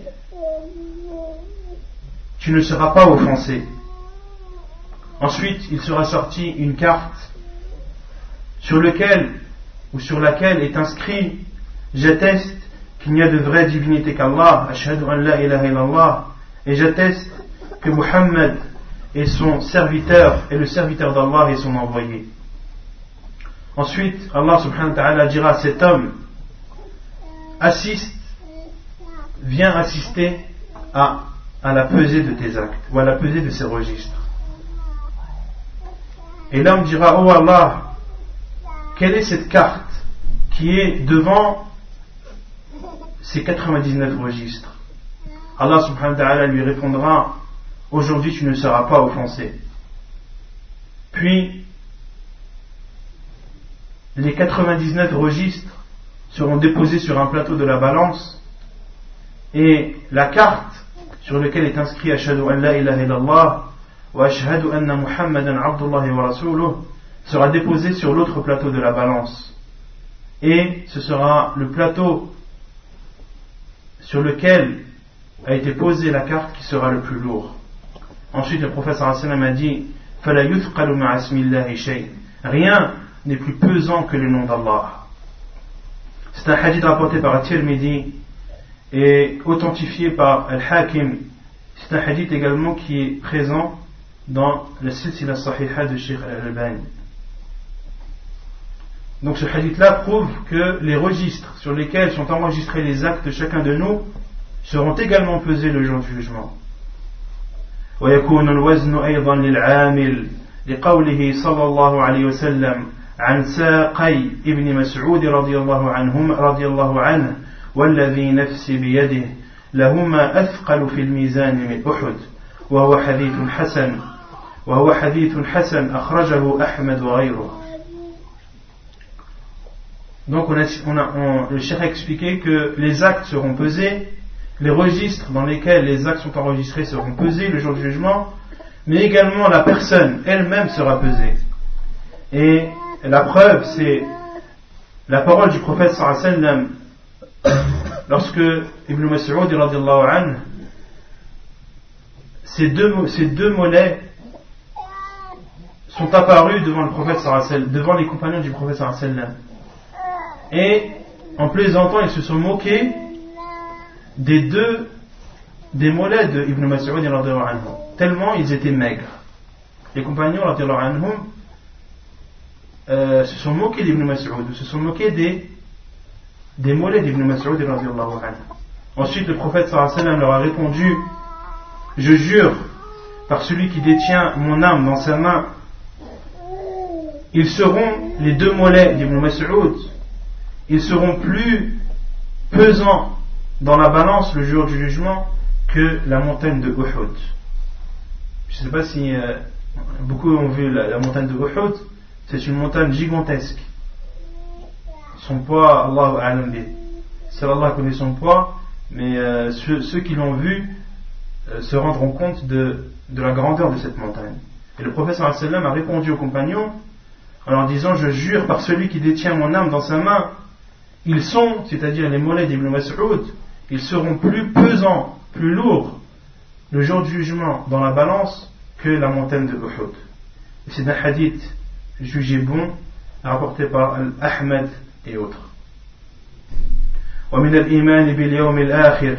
Speaker 1: tu ne seras pas offensé. Ensuite, il sera sorti une carte sur laquelle est inscrit: j'atteste qu'il n'y a de vraie divinité qu'Allah, ashhadu an la ilaha illallah, et j'atteste que Muhammad est son serviteur et le serviteur d'Allah et son envoyé. Ensuite, Allah subhanahu wa ta'ala dira à cet homme: viens assister à la pesée de tes actes, ou à la pesée de ces registres. Et l'homme dira: oh Allah, quelle est cette carte qui est devant ces 99 registres? Allah subhanahu wa ta'ala lui répondra: aujourd'hui tu ne seras pas offensé. Puis les 99 registres seront déposés sur un plateau de la balance, et la carte sur laquelle est inscrit ashhadu an la ilaha illallah wa ashhadu anna muhammadan abdullahi wa rasuluh sera déposée sur l'autre plateau de la balance, et ce sera le plateau sur lequel a été posée la carte qui sera le plus lourd. Ensuite, le prophète sallallahu alayhi wa sallam a dit: fala yuthqalu ma'a ismillahi shay. Rien n'est plus pesant que le nom d'Allah. C'est un hadith rapporté par At-Tirmidhi et authentifié par Al-Hakim. C'est un hadith également qui est présent dans le Silsila Sahiha de Sheikh Al-Albani. Donc ce hadith-là prouve que les registres sur lesquels sont enregistrés les actes de chacun de nous seront également pesés le jour du jugement. ويكون الوزن أيضا للعامل لقوله صلى الله عليه وسلم عن ساقي ابن مسعود رضي الله عنه والذي نفسي بيده لهما أثقل في الميزان من أحد وهو حديث حسن أخرجه أحمد وغيره. Donc le cheikh a expliqué que les actes seront pesés, les registres dans lesquels les actes sont enregistrés seront pesés le jour du jugement, mais également la personne elle-même sera pesée. Et la preuve, c'est la parole du prophète sallallahu alayhi wa sallam lorsque Ibn Mas'ud radiyallahu anhu, ces deux mollets sont apparus devant le prophète sallallahu alayhi wa sallam, devant les compagnons du prophète sallallahu alayhi wa sallam. Et en plaisantant, ils se sont moqués des mollets de Ibn Mas'ud radiyallahu anhu, tellement ils étaient maigres. Les compagnons radiyallahu anhum se sont moqués d'Ibn Mas'ud, se sont moqués des mollets d'Ibn Mas'ud radiyallahu anhu. Ensuite, le prophète sallallahu alayhi wa sallam leur a répondu: je jure par celui qui détient mon âme dans sa main, ils seront, les deux mollets d'Ibn Mas'ud, ils seront plus pesants dans la balance le jour du jugement que la montagne de Uhud. Je ne sais pas si beaucoup ont vu la montagne de Uhud. C'est une montagne gigantesque. Son poids, Allahu a'lam bi. Seul Allah connaît son poids, mais ceux qui l'ont vu se rendront compte de la grandeur de cette montagne. Et le prophète sallallahu alayhi wa sallam a répondu aux compagnons en leur disant: je jure par celui qui détient mon âme dans sa main, ils sont, c'est-à-dire les mollets d'Ibn Mas'ud, ils seront plus pesants, plus lourds le jour du jugement dans la balance que la montagne de Uhud. Et c'est un hadith jugé bon, rapporté par Ahmed et autres. ومن الإيمان باليوم الآخر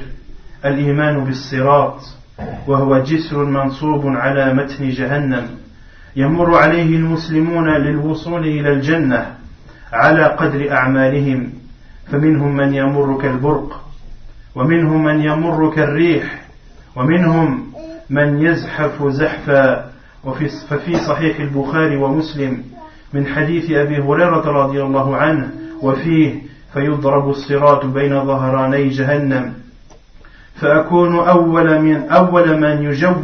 Speaker 1: الإيمان بالصراط وهو جسر منصوب على متن جهنم يمر عليه المسلمون للوصول إلى الجنة على قدر أعمالهم فمنهم من يمر كالبرق ومنهم من يمر كالريح ومنهم من يزحف زحفا ففي صحيح البخاري ومسلم من حديث أبي هريرة رضي الله عنه وفيه فيضرب الصراط بين ظهراني جهنم فأكون أول من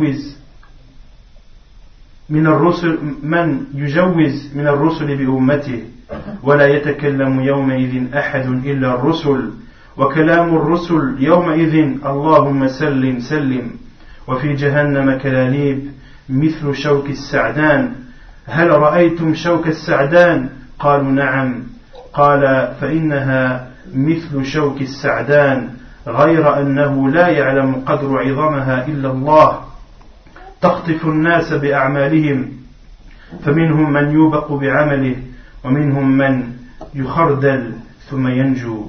Speaker 1: يجوز من الرسل بأمته ولا يتكلم يومئذ أحد إلا الرسل وكلام الرسل يومئذ اللهم سلم سلم وفي جهنم كلاليب مثل شوك السعدان هل رأيتم شوك السعدان قالوا نعم قال فإنها مثل شوك السعدان غير أنه لا يعلم قدر عظمها إلا الله تخطف الناس بأعمالهم فمنهم من يوبق بعمله ومنهم من يخردل ثم ينجو.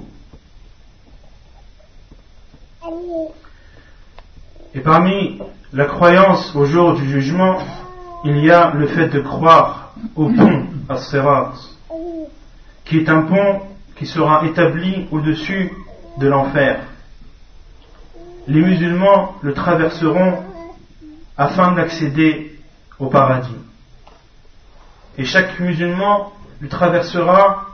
Speaker 1: Et parmi la croyance au jour du jugement, il y a le fait de croire au pont As-Sirat, qui est un pont qui sera établi au-dessus de l'enfer. Les musulmans le traverseront afin d'accéder au paradis. Et chaque musulman le traversera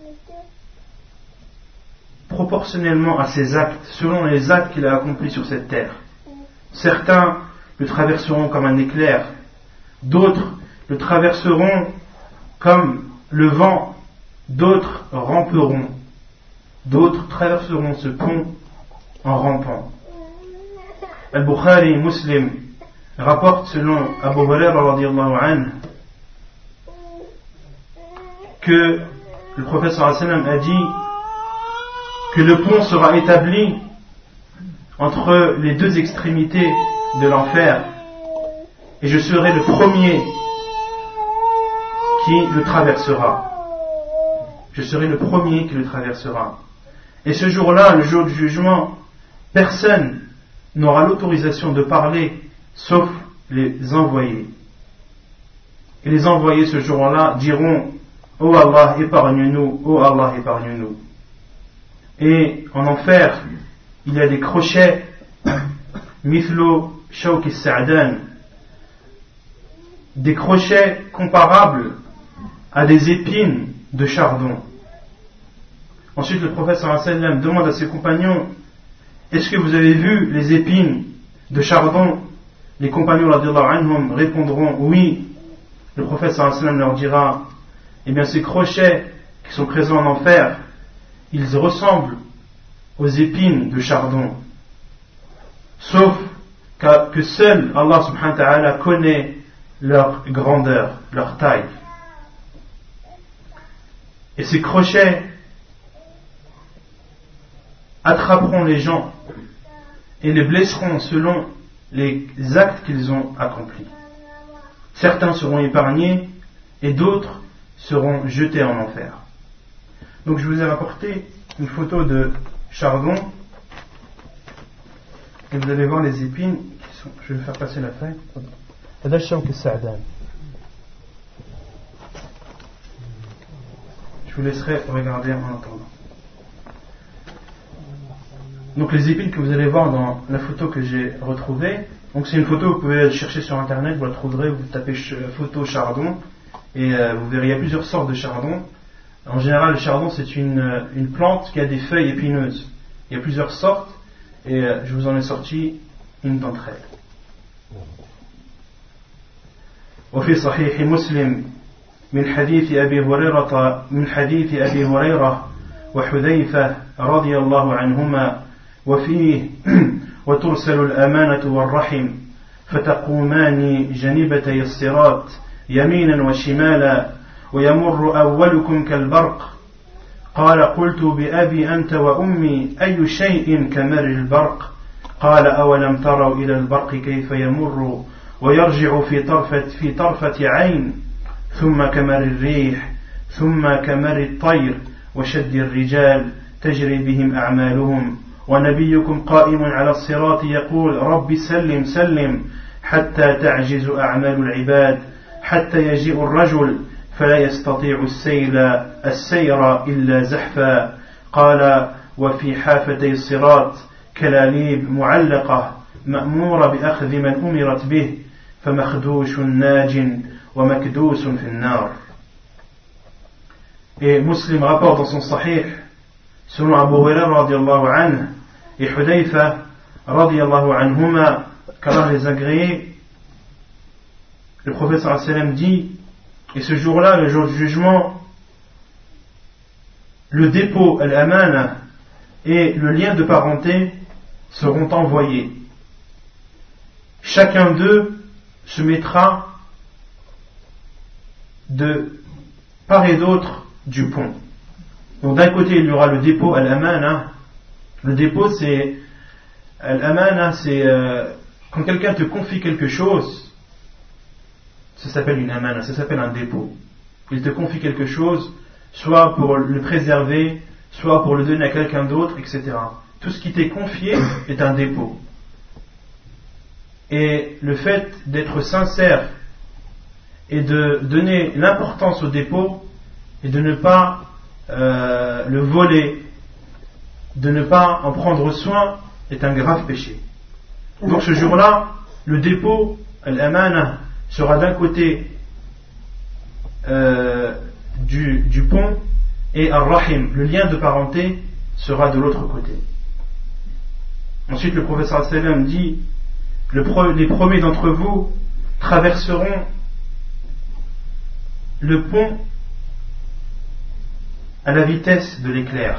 Speaker 1: proportionnellement à ses actes, selon les actes qu'il a accomplis sur cette terre. Certains le traverseront comme un éclair, d'autres le traverseront comme le vent, d'autres ramperont, d'autres traverseront ce pont en rampant. Al-Bukhari Muslim rapporte selon Abu Hurayra radiyallahu anhu que le prophète sallallahu alayhi wa sallam a dit que le pont sera établi entre les deux extrémités de l'enfer et je serai le premier qui le traversera. Je serai le premier qui le traversera. Et ce jour-là, le jour du jugement, personne n'aura l'autorisation de parler sauf les envoyés. Et les envoyés ce jour-là diront « Oh Allah, épargne-nous, oh Allah, épargne-nous ». Et en enfer, il y a des crochets mithlo shawk as-sa'dan, des crochets comparables à des épines de chardon. Ensuite, le prophète sallallahu alayhi wa sallam demande à ses compagnons est-ce que vous avez vu les épines de chardon? Les compagnons radiyallahu anhum répondront oui. Le prophète sallallahu alayhi wa sallam leur dira eh bien ces crochets qui sont présents en enfer, ils ressemblent aux épines de chardon, sauf que seul Allah subhanahu wa ta'ala connaît leur grandeur, leur taille. Et ces crochets attraperont les gens et les blesseront selon les actes qu'ils ont accomplis. Certains seront épargnés et d'autres seront jetés en enfer. Donc je vous ai rapporté une photo de chardon et vous allez voir les épines qui sont. Je vais faire passer la feuille. Je vous laisserai regarder en attendant. Donc les épines que vous allez voir dans la photo que j'ai retrouvée, donc c'est une photo, vous pouvez la chercher sur internet, vous la trouverez, vous tapez photo chardon et vous verrez, il y a plusieurs sortes de chardon. En général, le chardon c'est une plante qui a des feuilles épineuses. Il y a plusieurs sortes et je vous en ai sorti une d'entre elles. وفي صحيح مسلم من حديث أبي هريرة وحذيفة رضي الله عنهما وفيه وترسل الأمانة والرحم فتقومان جانبتي الصراط يمينا وشمالا ويمر أولكم كالبرق قال قلت بأبي أنت وأمي أي شيء كمر البرق قال أولم تروا إلى البرق كيف يمر ويرجع في طرفة عين ثم كمر الريح ثم كمر الطير وشد الرجال تجري بهم أعمالهم ونبيكم قائم على الصراط يقول رب سلم سلم حتى تعجز أعمال العباد حتى يجيء الرجل فلا يستطيع السير إلا زحفا قال وفي حافتي الصراط كلاليب معلقة مأمورة بأخذ من أمرت به فمخدوش ناج ومكدوس في النار. Et Muslim rapporte dans son Sahih, selon Abu Hurairah radiyallahu anhu et Hudayfa radiyallahu anhuma, qu'Allah les agréés, le prophète sallallahu alayhi wa sallam dit, et ce jour-là, le jour du jugement, le dépôt, al-amana, et le lien de parenté seront envoyés. Chacun d'eux se mettra de part et d'autre du pont. Donc d'un côté il y aura le dépôt al-amana. Le dépôt c'est al-amana, c'est quand quelqu'un te confie quelque chose, ça s'appelle une amana, ça s'appelle un dépôt. Il te confie quelque chose, soit pour le préserver, soit pour le donner à quelqu'un d'autre, etc. Tout ce qui t'est confié est un dépôt. Et le fait d'être sincère et de donner l'importance au dépôt et de ne pas le voler, de ne pas en prendre soin, est un grave péché. Donc ce jour-là, le dépôt, al-amana, sera d'un côté du pont, et ar-rahim, le lien de parenté, sera de l'autre côté. Ensuite le prophète sallallahu alayhi wa sallam dit, les premiers d'entre vous traverseront le pont à la vitesse de l'éclair.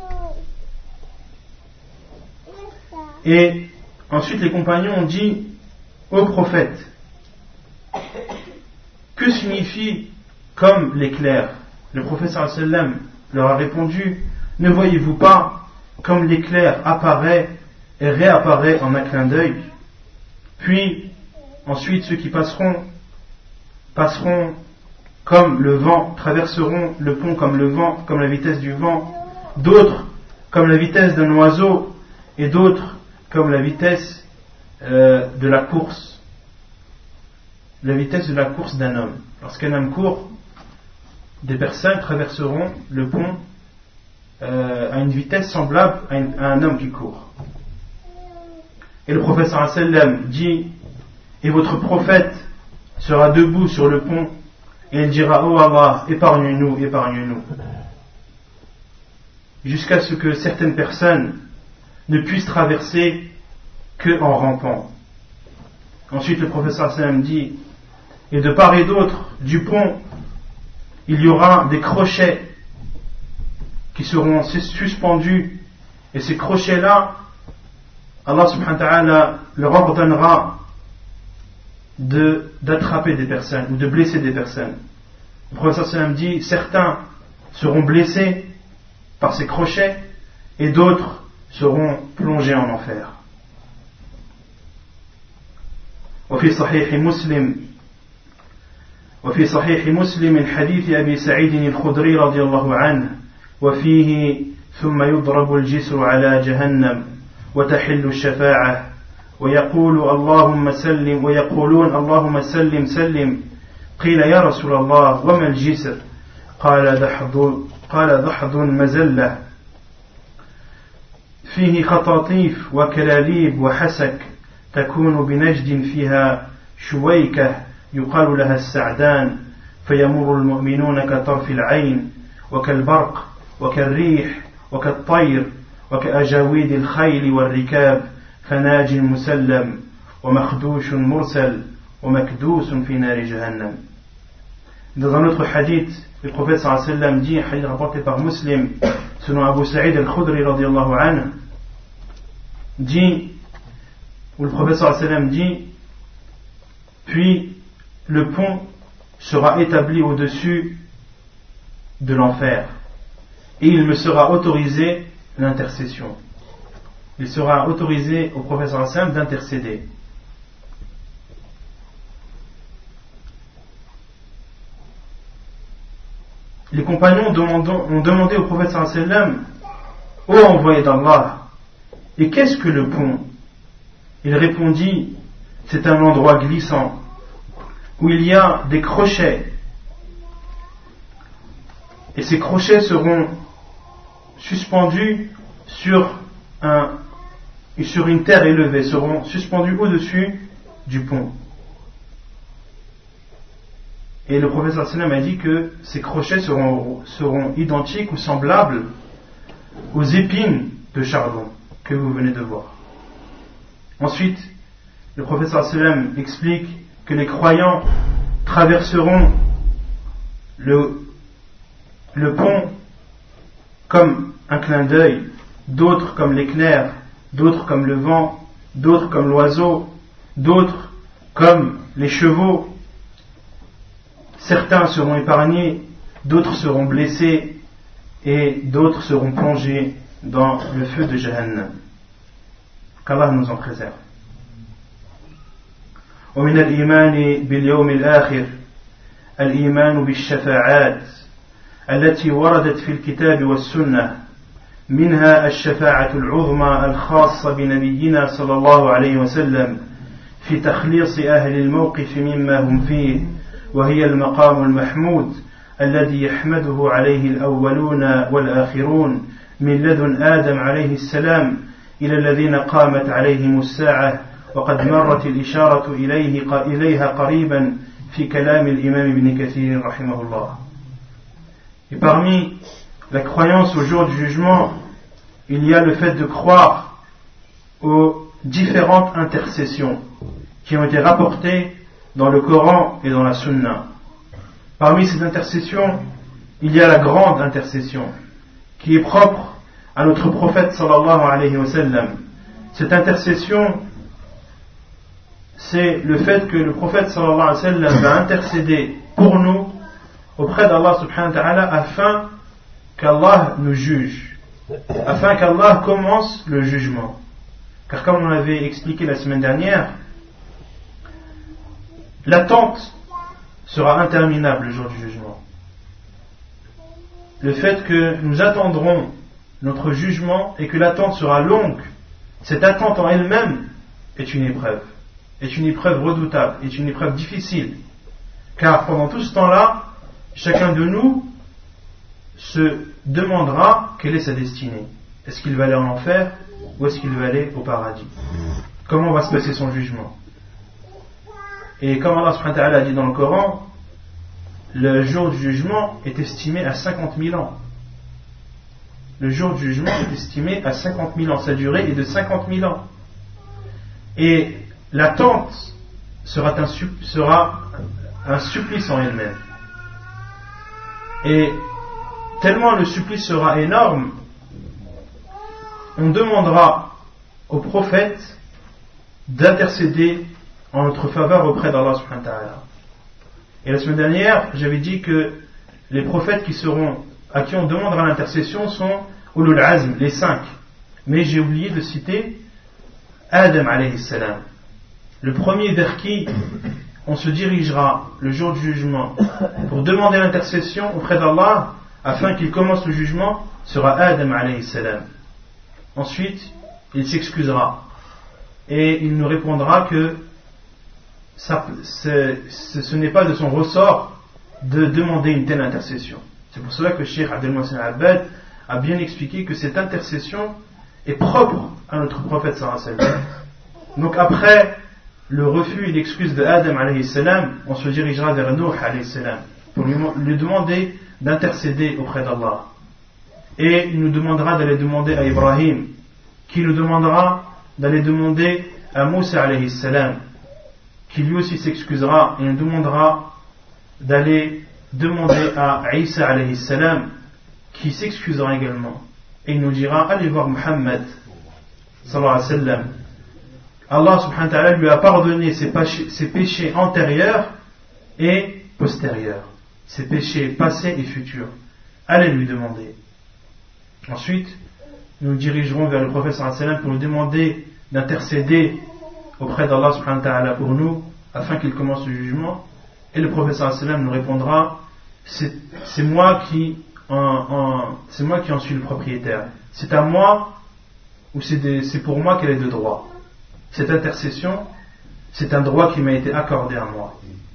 Speaker 1: Et ensuite les compagnons ont dit au prophète, que signifie comme l'éclair? Le prophète sallallahu alayhi wa sallam leur a répondu, ne voyez-vous pas comme l'éclair apparaît et réapparaît en un clin d'œil? Puis ensuite ceux qui passeront comme le vent, traverseront le pont comme le vent, comme la vitesse du vent, d'autres comme la vitesse d'un oiseau et d'autres comme la vitesse de la course, la vitesse de la course d'un homme. Lorsqu'un homme court, des personnes traverseront le pont à une vitesse semblable à un homme qui court. Et le prophète sallallahu alayhi wa sallam dit, et votre prophète sera debout sur le pont et il dira, oh Allah, épargne-nous, épargne-nous, jusqu'à ce que certaines personnes ne puissent traverser que en rampant. Ensuite le prophète sallallahu alayhi wa sallam dit, et de part et d'autre du pont il y aura des crochets qui seront suspendus, et ces crochets là Allah subhanahu wa ta'ala leur ordonnera d'attraper des personnes ou de blesser des personnes. Le prophète sallam dit, certains seront blessés par ces crochets et d'autres seront plongés en enfer. وفي صحيح مسلم من حديث أبي سعيد الخدري رضي الله عنه وفيه ثم يضرب الجسر على جهنم وتحل الشفاعة ويقولون اللهم سلم سلم قيل يا رسول الله وما الجسر قال دحض مزلة فيه خطاطيف وكلاليب وحسك تكون بنجد فيها شويكة يقال لها السعدان فيمر المؤمنون كطرف العين وكالبرق وكالريح وكالطير وكأجاويد الخيل والركاب فناج مسلم ومخدوش مرسل ومكدوس في نار جهنم. Dans un autre hadith, le prophète sallallahu alayhi wa sallam dit, un hadith rapporté par Muslim, selon Abu Sa'id al-Khudri radiyallahu anhu, dit, où le prophète sallallahu alayhi wa sallam dit, puis le pont sera établi au-dessus de l'enfer et il me sera autorisé l'intercession. Il sera autorisé au prophète sallallahu alayhi wa sallam d'intercéder. Les compagnons ont demandé au prophète sallallahu alayhi wa sallam, ô envoyé d'Allah, et qu'est-ce que le pont? Il répondit, c'est un endroit glissant où il y a des crochets, et ces crochets seront suspendus sur une terre élevée, seront suspendus au-dessus du pont. Et le prophète sallallahu alayhi wa sallam a dit que ces crochets seront identiques ou semblables aux épines de charbon que vous venez de voir. Ensuite, le prophète sallallahu alayhi wa sallam explique que les croyants traverseront le pont comme un clin d'œil, d'autres comme l'éclair, d'autres comme le vent, d'autres comme l'oiseau, d'autres comme les chevaux. Certains seront épargnés, d'autres seront blessés et d'autres seront plongés dans le feu de Jahannam. Qu'Allah nous en préserve. ومن الإيمان باليوم الآخر الإيمان بالشفاعات التي وردت في الكتاب والسنة منها الشفاعة العظمى الخاصة بنبينا صلى الله عليه وسلم في تخليص أهل الموقف مما هم فيه وهي المقام المحمود الذي يحمده عليه الأولون والآخرون من لدن آدم عليه السلام إلى الذين قامت عليهم الساعة وقد مرت الإشارة إليها قريبا في كلام الإمام ابن كثير رحمه الله. Et parmi la croyance au jour du jugement, il y a le fait de croire aux différentes intercessions qui ont été rapportées dans le Coran et dans la Sunna. Parmi ces intercessions, il y a la grande intercession qui est propre à notre prophète sallallahu alayhi wa sallam. Cette intercession, c'est le fait que le prophète sallallahu alayhi wa sallam va intercéder pour nous auprès d'Allah subhanahu wa ta'ala afin qu'Allah nous juge, afin qu'Allah commence le jugement. Car comme on l'avait expliqué la semaine dernière, l'attente sera interminable le jour du jugement. Le fait que nous attendrons notre jugement et que l'attente sera longue, cette attente en elle-même est une épreuve redoutable, est une épreuve difficile. Car pendant tout ce temps-là, chacun de nous se demandera quelle est sa destinée. Est-ce qu'il va aller en enfer ou est-ce qu'il va aller au paradis? Comment va se passer son jugement? Et comme Allah subhanahu wa ta'ala a dit dans le Coran, le jour du jugement est estimé à 50 000 ans. Le jour du jugement est estimé à 50 000 ans. Sa durée est de 50 000 ans. Et l'attente sera un supplice en elle-même. Et tellement le supplice sera énorme, on demandera au prophète d'intercéder en notre faveur auprès d'Allah subhanahu wa ta'ala. Et la semaine dernière, j'avais dit que les prophètes à qui on demandera l'intercession sont Ulul Azm, les 5. Mais j'ai oublié de citer Adam alayhi salam, le premier vers qui on se dirigera le jour du jugement pour demander l'intercession auprès d'Allah afin qu'il commence le jugement sera Adam alayhi salam. Ensuite, il s'excusera et il nous répondra que ce n'est pas de son ressort de demander une telle intercession. C'est pour cela que Cheikh Abdel Mohsen Al-Abbad a bien expliqué que cette intercession est propre à notre prophète sallallahu alayhi wa sallam. Donc après le refus et l'excuse de Adam alayhi salam, on se dirigera vers Nuh alayhi salam pour lui demander d'intercéder auprès d'Allah. Et il nous demandera d'aller demander à Ibrahim, qui nous demandera d'aller demander à Moussa alayhi salam, qui lui aussi s'excusera et nous demandera d'aller demander à Isa alayhi salam, qui s'excusera également. Et il nous dira, allez voir Muhammad sallallahu alayhi wa sallam. Allah subhanahu wa ta'ala lui a pardonné ses péchés antérieurs et postérieurs, ses péchés passés et futurs. Allez lui demander. Ensuite, nous nous dirigerons vers le prophète sallallahu alayhi wa sallam pour lui demander d'intercéder auprès d'Allah subhanahu wa ta'ala pour nous afin qu'il commence le jugement. Et le prophète sallallahu alayhi wa sallam nous répondra, c'est moi qui en suis le propriétaire. C'est à moi ou c'est pour moi qu'elle est de droit. Cette intercession, c'est un droit qui m'a été accordé à moi.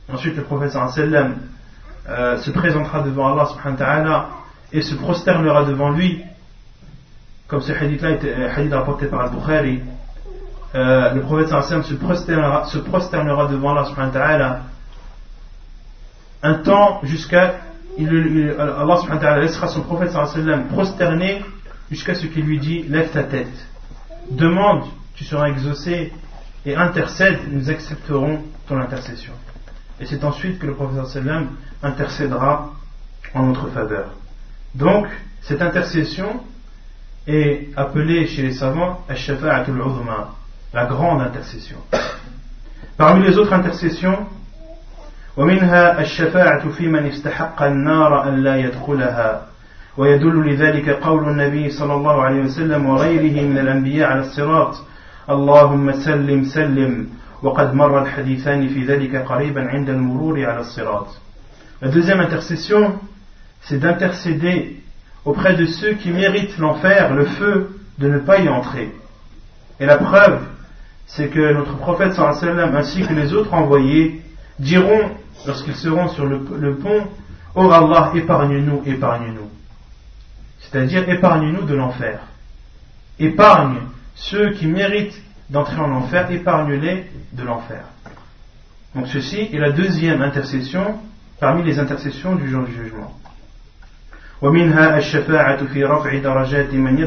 Speaker 1: Ensuite, le prophète sallam se présentera devant Allah subhanahu wa ta'ala et se prosternera devant lui, comme ce hadith-là était hadith rapporté par Al-Bukhari. Le prophète sallam se prosternera devant Allah subhanahu wa ta'ala un temps jusqu'à Allah subhanahu wa ta'ala laissera son prophète sallam prosterné jusqu'à ce qu'il lui dit: lève ta tête, demande, tu seras exaucé, et intercède, nous accepterons ton intercession. Et c'est ensuite que le prophète sallam intercédera en notre faveur. Donc cette intercession est appelée chez les savants ash-shafa'atul 'uzma, la grande intercession. Parmi les autres intercessions, ومنها الشفاعة في من استحق النار أن لا يدخلها ويدل لذلك قول النبي صلى الله عليه وسلم وغيره من الأنبياء على الصراط اللهم سلم سلم وقد مر الحديثان في ذلك قريبا عند المرور على الصراط. La deuxième intercession, c'est d'intercéder auprès de ceux qui méritent l'enfer, le feu, de ne pas y entrer. Et la preuve, c'est que notre prophète sallallahu alayhi wa sallam ainsi que les autres envoyés diront lorsqu'ils seront sur le pont: oh Allah, épargne-nous, épargne-nous. C'est-à-dire, épargne-nous de l'enfer. Épargne ceux qui méritent d'entrer en enfer, épargne-les de l'enfer. Donc ceci est la deuxième intercession parmi les intercessions du jour du jugement. ومنها الشفاعة في رفع درجات من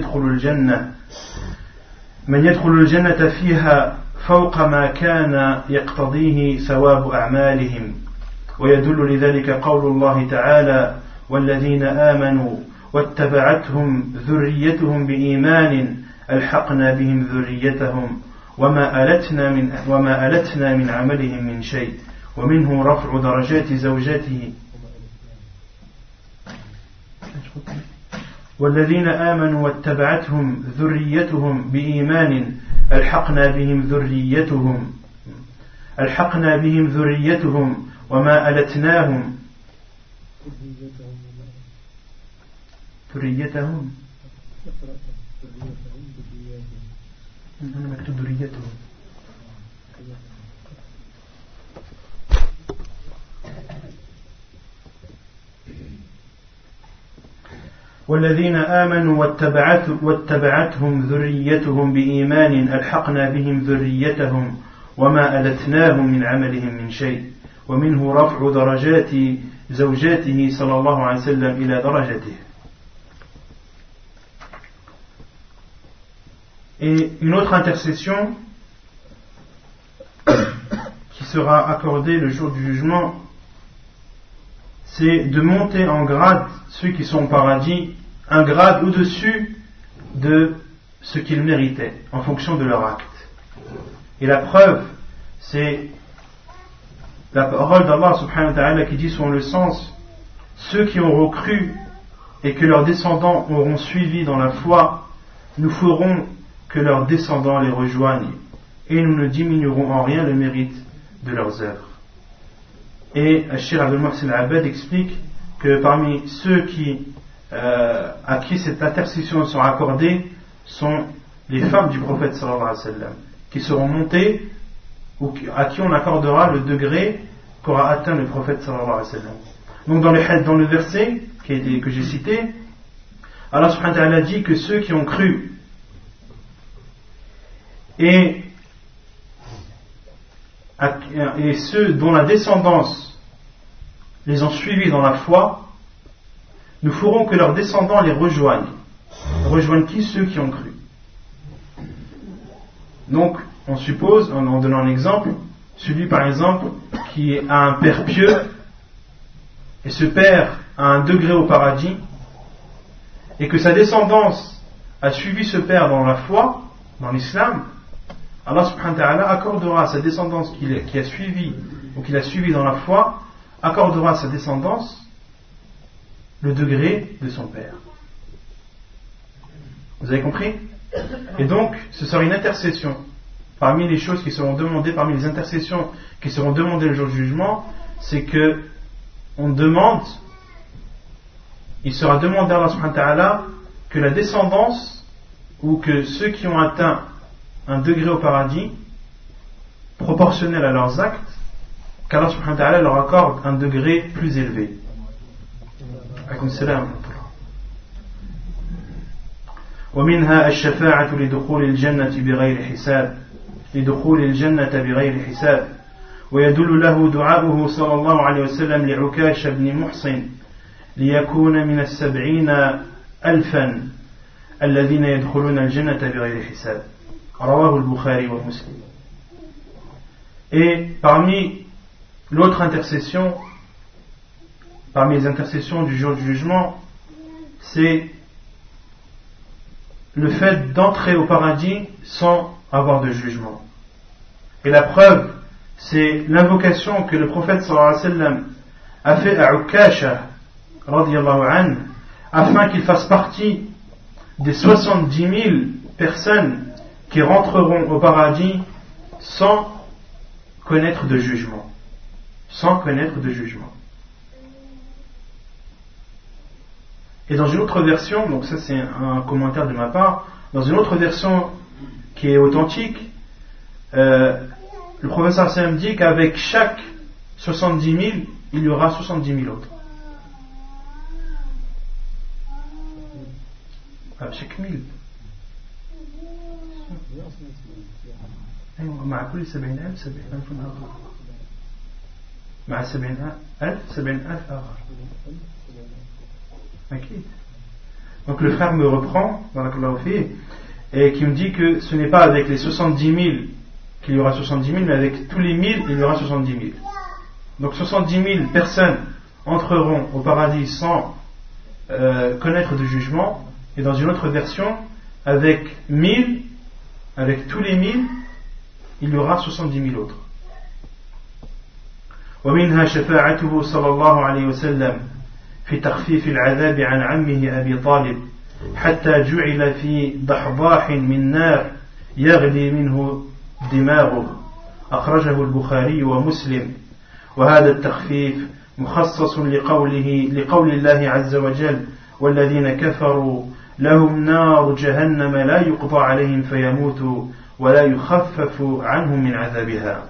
Speaker 1: يدخل الجنة فيها فوق ما كان يقتضيه ثواب أعمالهم ويدل لذلك قول الله تعالى والذين آمنوا واتبعتهم ذريتهم بإيمان ألحقنا بهم ذريتهم وما ألتنا من عملهم من شيء ومنه رفع درجات زوجاته والذين آمنوا واتبعتهم ذريتهم بإيمان ألحقنا بهم ذريتهم وما ألتناهم ذريتهم أنا مكتوب ذريتهم والذين آمنوا واتبعتهم ذريتهم بإيمان ألحقنا بهم ذريتهم وما ألتناهم من عملهم من شيء ومنه رفع درجات زوجاته صلى الله عليه وسلم إلى درجته. Et une autre intercession qui sera accordée le jour du jugement, c'est de monter en grade ceux qui sont au paradis, un grade au-dessus de ce qu'ils méritaient en fonction de leur acte. Et la preuve, c'est la parole d'Allah subhanahu wa ta'ala qui dit selon le sens: ceux qui auront cru et que leurs descendants auront suivi dans la foi, nous ferons que leurs descendants les rejoignent et nous ne diminuerons en rien le mérite de leurs œuvres. Et Cheikh Abdul Muhsin Al-Abbad explique que parmi ceux à qui cette intercession sera accordée sont les femmes du prophète sallallahu alayhi wa sallam, qui seront montées ou à qui on accordera le degré qu'aura atteint le prophète sallallahu alayhi wa sallam. Donc dans le verset que j'ai cité, Allah subhanahu wa ta'ala dit que ceux qui ont cru et ceux dont la descendance les ont suivis dans la foi, nous ferons que leurs descendants les rejoignent. Rejoignent qui? Ceux qui ont cru. Donc, on suppose, en donnant un exemple, celui par exemple qui a un père pieux, et ce père a un degré au paradis, et que sa descendance a suivi ce père dans la foi, dans l'islam, Allah subhanahu wa ta'ala accordera à sa descendance qui a suivi, ou qu'il a suivi dans la foi, accordera à sa descendance le degré de son père. Vous avez compris? Et donc, ce sera une intercession. Parmi les choses qui seront demandées, parmi les intercessions qui seront demandées le jour du jugement, c'est que il sera demandé à Allah subhanahu wa ta'ala que la descendance, ou que ceux qui ont atteint un degré au paradis, proportionnel à leurs actes, qu'Allah subhanahu wa ta'ala leur accorde un degré plus élevé. ومنها الشفاعة لدخول الجنة بغير حساب ويدل له دعاؤه صلى الله عليه وسلم لعكاش بن محصن ليكون من 70,000 الذين يدخلون الجنة بغير حساب رواه البخاري ومسلم. Et parmi l'autre intercession, parmi les intercessions du jour du jugement, c'est le fait d'entrer au paradis sans avoir de jugement. Et la preuve, c'est l'invocation que le prophète sallallahu alayhi wa sallam a fait à Ukasha radiyallahu anhu, afin qu'il fasse partie des 70 000 personnes qui rentreront au paradis sans connaître de jugement. Sans connaître de jugement. Et dans une autre version, donc ça c'est un commentaire de ma part, dans une autre version qui est authentique, le professeur Sam dit qu'avec chaque 70 000, il y aura 70 000 autres. Avec chaque 1000. مع كل 70,000 70,000 آخر مع 70,000 70,000 آخر أكيد. Donc le frère me reprend et qui me dit que ce n'est pas avec les 70 000 qu'il y aura 70 000, mais avec tous les 1000 il y aura 70 000. Donc 70 000 personnes entreront au paradis sans connaître de jugement, et dans une autre version avec 1000, avec tous les 1000 il y aura 70 000 autres. ومنها شفاعته صلى الله عليه وسلم في تخفيف العذاب عن عمه أبي طالب حتى جعل في ضحضاح من نار يغلي منه دماغه أخرجه البخاري ومسلم. وهذا التخفيف مخصص لقول الله عز وجل والذين كفروا لهم نار جهنم لا يقضى عليهم فيموتوا ولا يخفف عنهم من عذابها.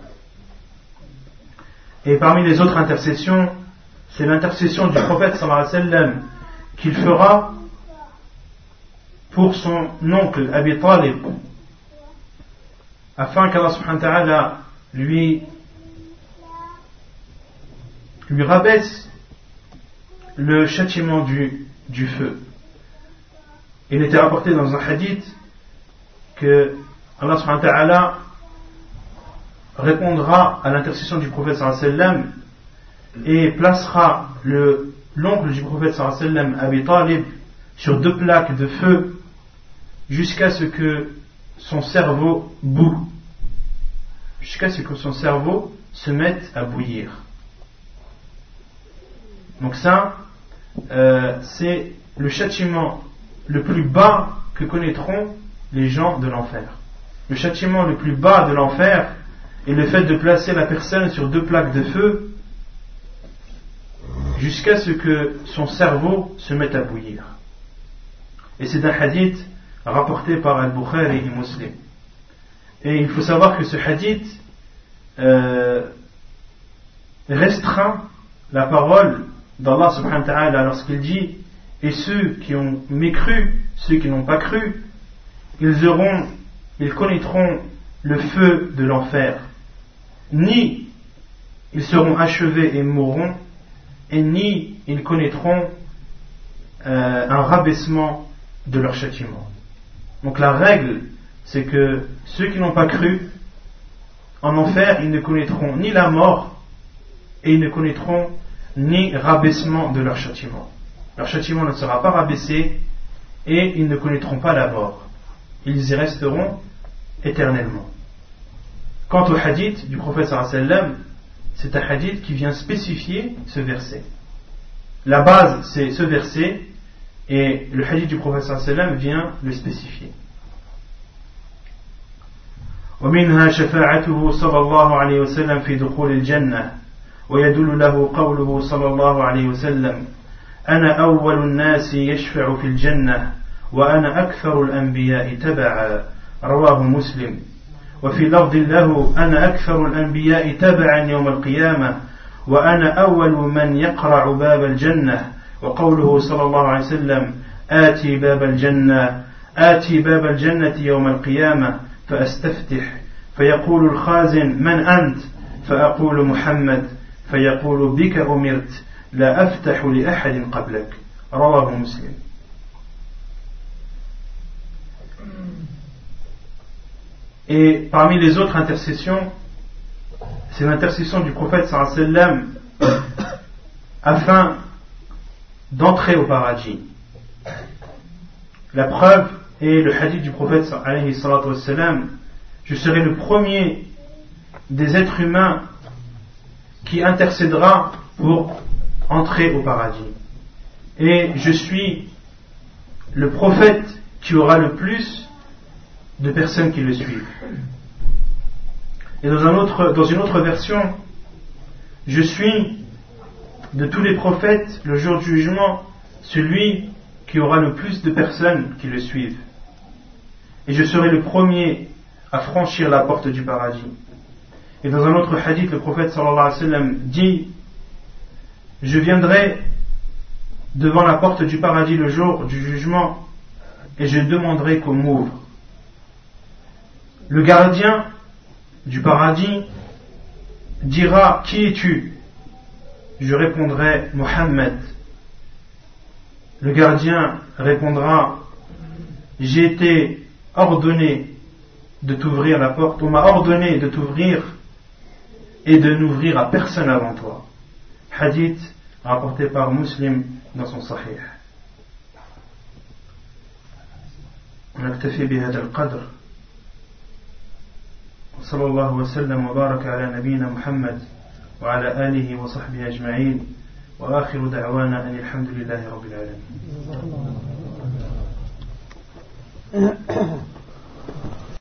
Speaker 1: Et parmi les autres intercessions, c'est l'intercession du prophète sallallahu alayhi wa sallam qu'il fera pour son oncle Abi Talib, afin qu'Allah subhanahu wa ta'ala lui rabaisse le châtiment du feu. Il était rapporté dans un hadith que Allah subhanahu wa ta'ala répondra à l'intercession du prophète sallallahu alayhi wa sallam et placera l'oncle du prophète sallallahu alayhi wa sallam, Abi Talib, sur 2 plaques de feu jusqu'à ce que son cerveau boue, jusqu'à ce que son cerveau se mette à bouillir. Donc ça, c'est le châtiment le plus bas que connaîtront les gens de l'enfer. Le châtiment le plus bas de l'enfer est le fait de placer la personne sur 2 plaques de feu jusqu'à ce que son cerveau se mette à bouillir. Et c'est un hadith rapporté par Al-Bukhari et Muslim. Et il faut savoir que ce hadith restreint la parole d'Allah subhanahu wa ta'ala lorsqu'il dit: et ceux qui ont mécru, ceux qui n'ont pas cru, ils connaîtront le feu de l'enfer. Ni ils seront achevés et mourront, et ni ils connaîtront un rabaissement de leur châtiment. Donc la règle, c'est que ceux qui n'ont pas cru, en enfer, ils ne connaîtront ni la mort, et ils ne connaîtront ni rabaissement de leur châtiment. Leur châtiment ne sera pas rabaissé, et ils ne connaîtront pas la mort. Ils y resteront éternellement. Quant au hadith du prophète sallallahu alayhi wa sallam, c'est un hadith qui vient spécifier ce verset. La base, c'est ce verset, et le hadith du prophète sallallahu alayhi wa sallam vient le spécifier. ومنها شفاعته صلى الله عليه وسلم في دخول الجنة ويدل له قوله صلى الله عليه وسلم أنا أول الناس يشفع في الجنة وأنا أكثر الأنبياء تبعا رواه مسلم. وفي لفظ له أنا أكثر الأنبياء تبعا يوم القيامة وأنا أول من يقرع باب الجنة وقوله صلى الله عليه وسلم آتي باب الجنة يوم القيامة فأستفتح فيقول الخازن من أنت فأقول محمد فيقول بك أمرت لا أفتح لأحد قبلك رواه مسلم. Et parmi les autres intercessions, c'est l'intercession du prophète sallallahu alayhi wa sallam afin d'entrer au paradis. La preuve est le hadith du prophète alayhi wa sallam: je serai le premier des êtres humains qui intercédera pour entrer au paradis. Et je suis le prophète qui aura le plus de personnes qui le suivent. Et dans une autre version, je suis de tous les prophètes le jour du jugement celui qui aura le plus de personnes qui le suivent. Et je serai le premier à franchir la porte du paradis. Et dans un autre hadith, le prophète sallallahu alayhi wa sallam dit: je viendrai devant la porte du paradis le jour du jugement et je demanderai qu'on m'ouvre. Le gardien du paradis dira: qui es-tu? Je répondrai: Mohammed. Le gardien répondra: j'ai été ordonné de t'ouvrir la porte, on m'a ordonné de t'ouvrir et de n'ouvrir à personne avant toi. Hadith rapporté par Muslim dans son Sahih. نكتفي بهذا القدر وصلى الله وسلم وبارك على نبينا محمد وعلى آله وصحبه أجمعين وآخر دعوانا أن الحمد لله رب العالمين.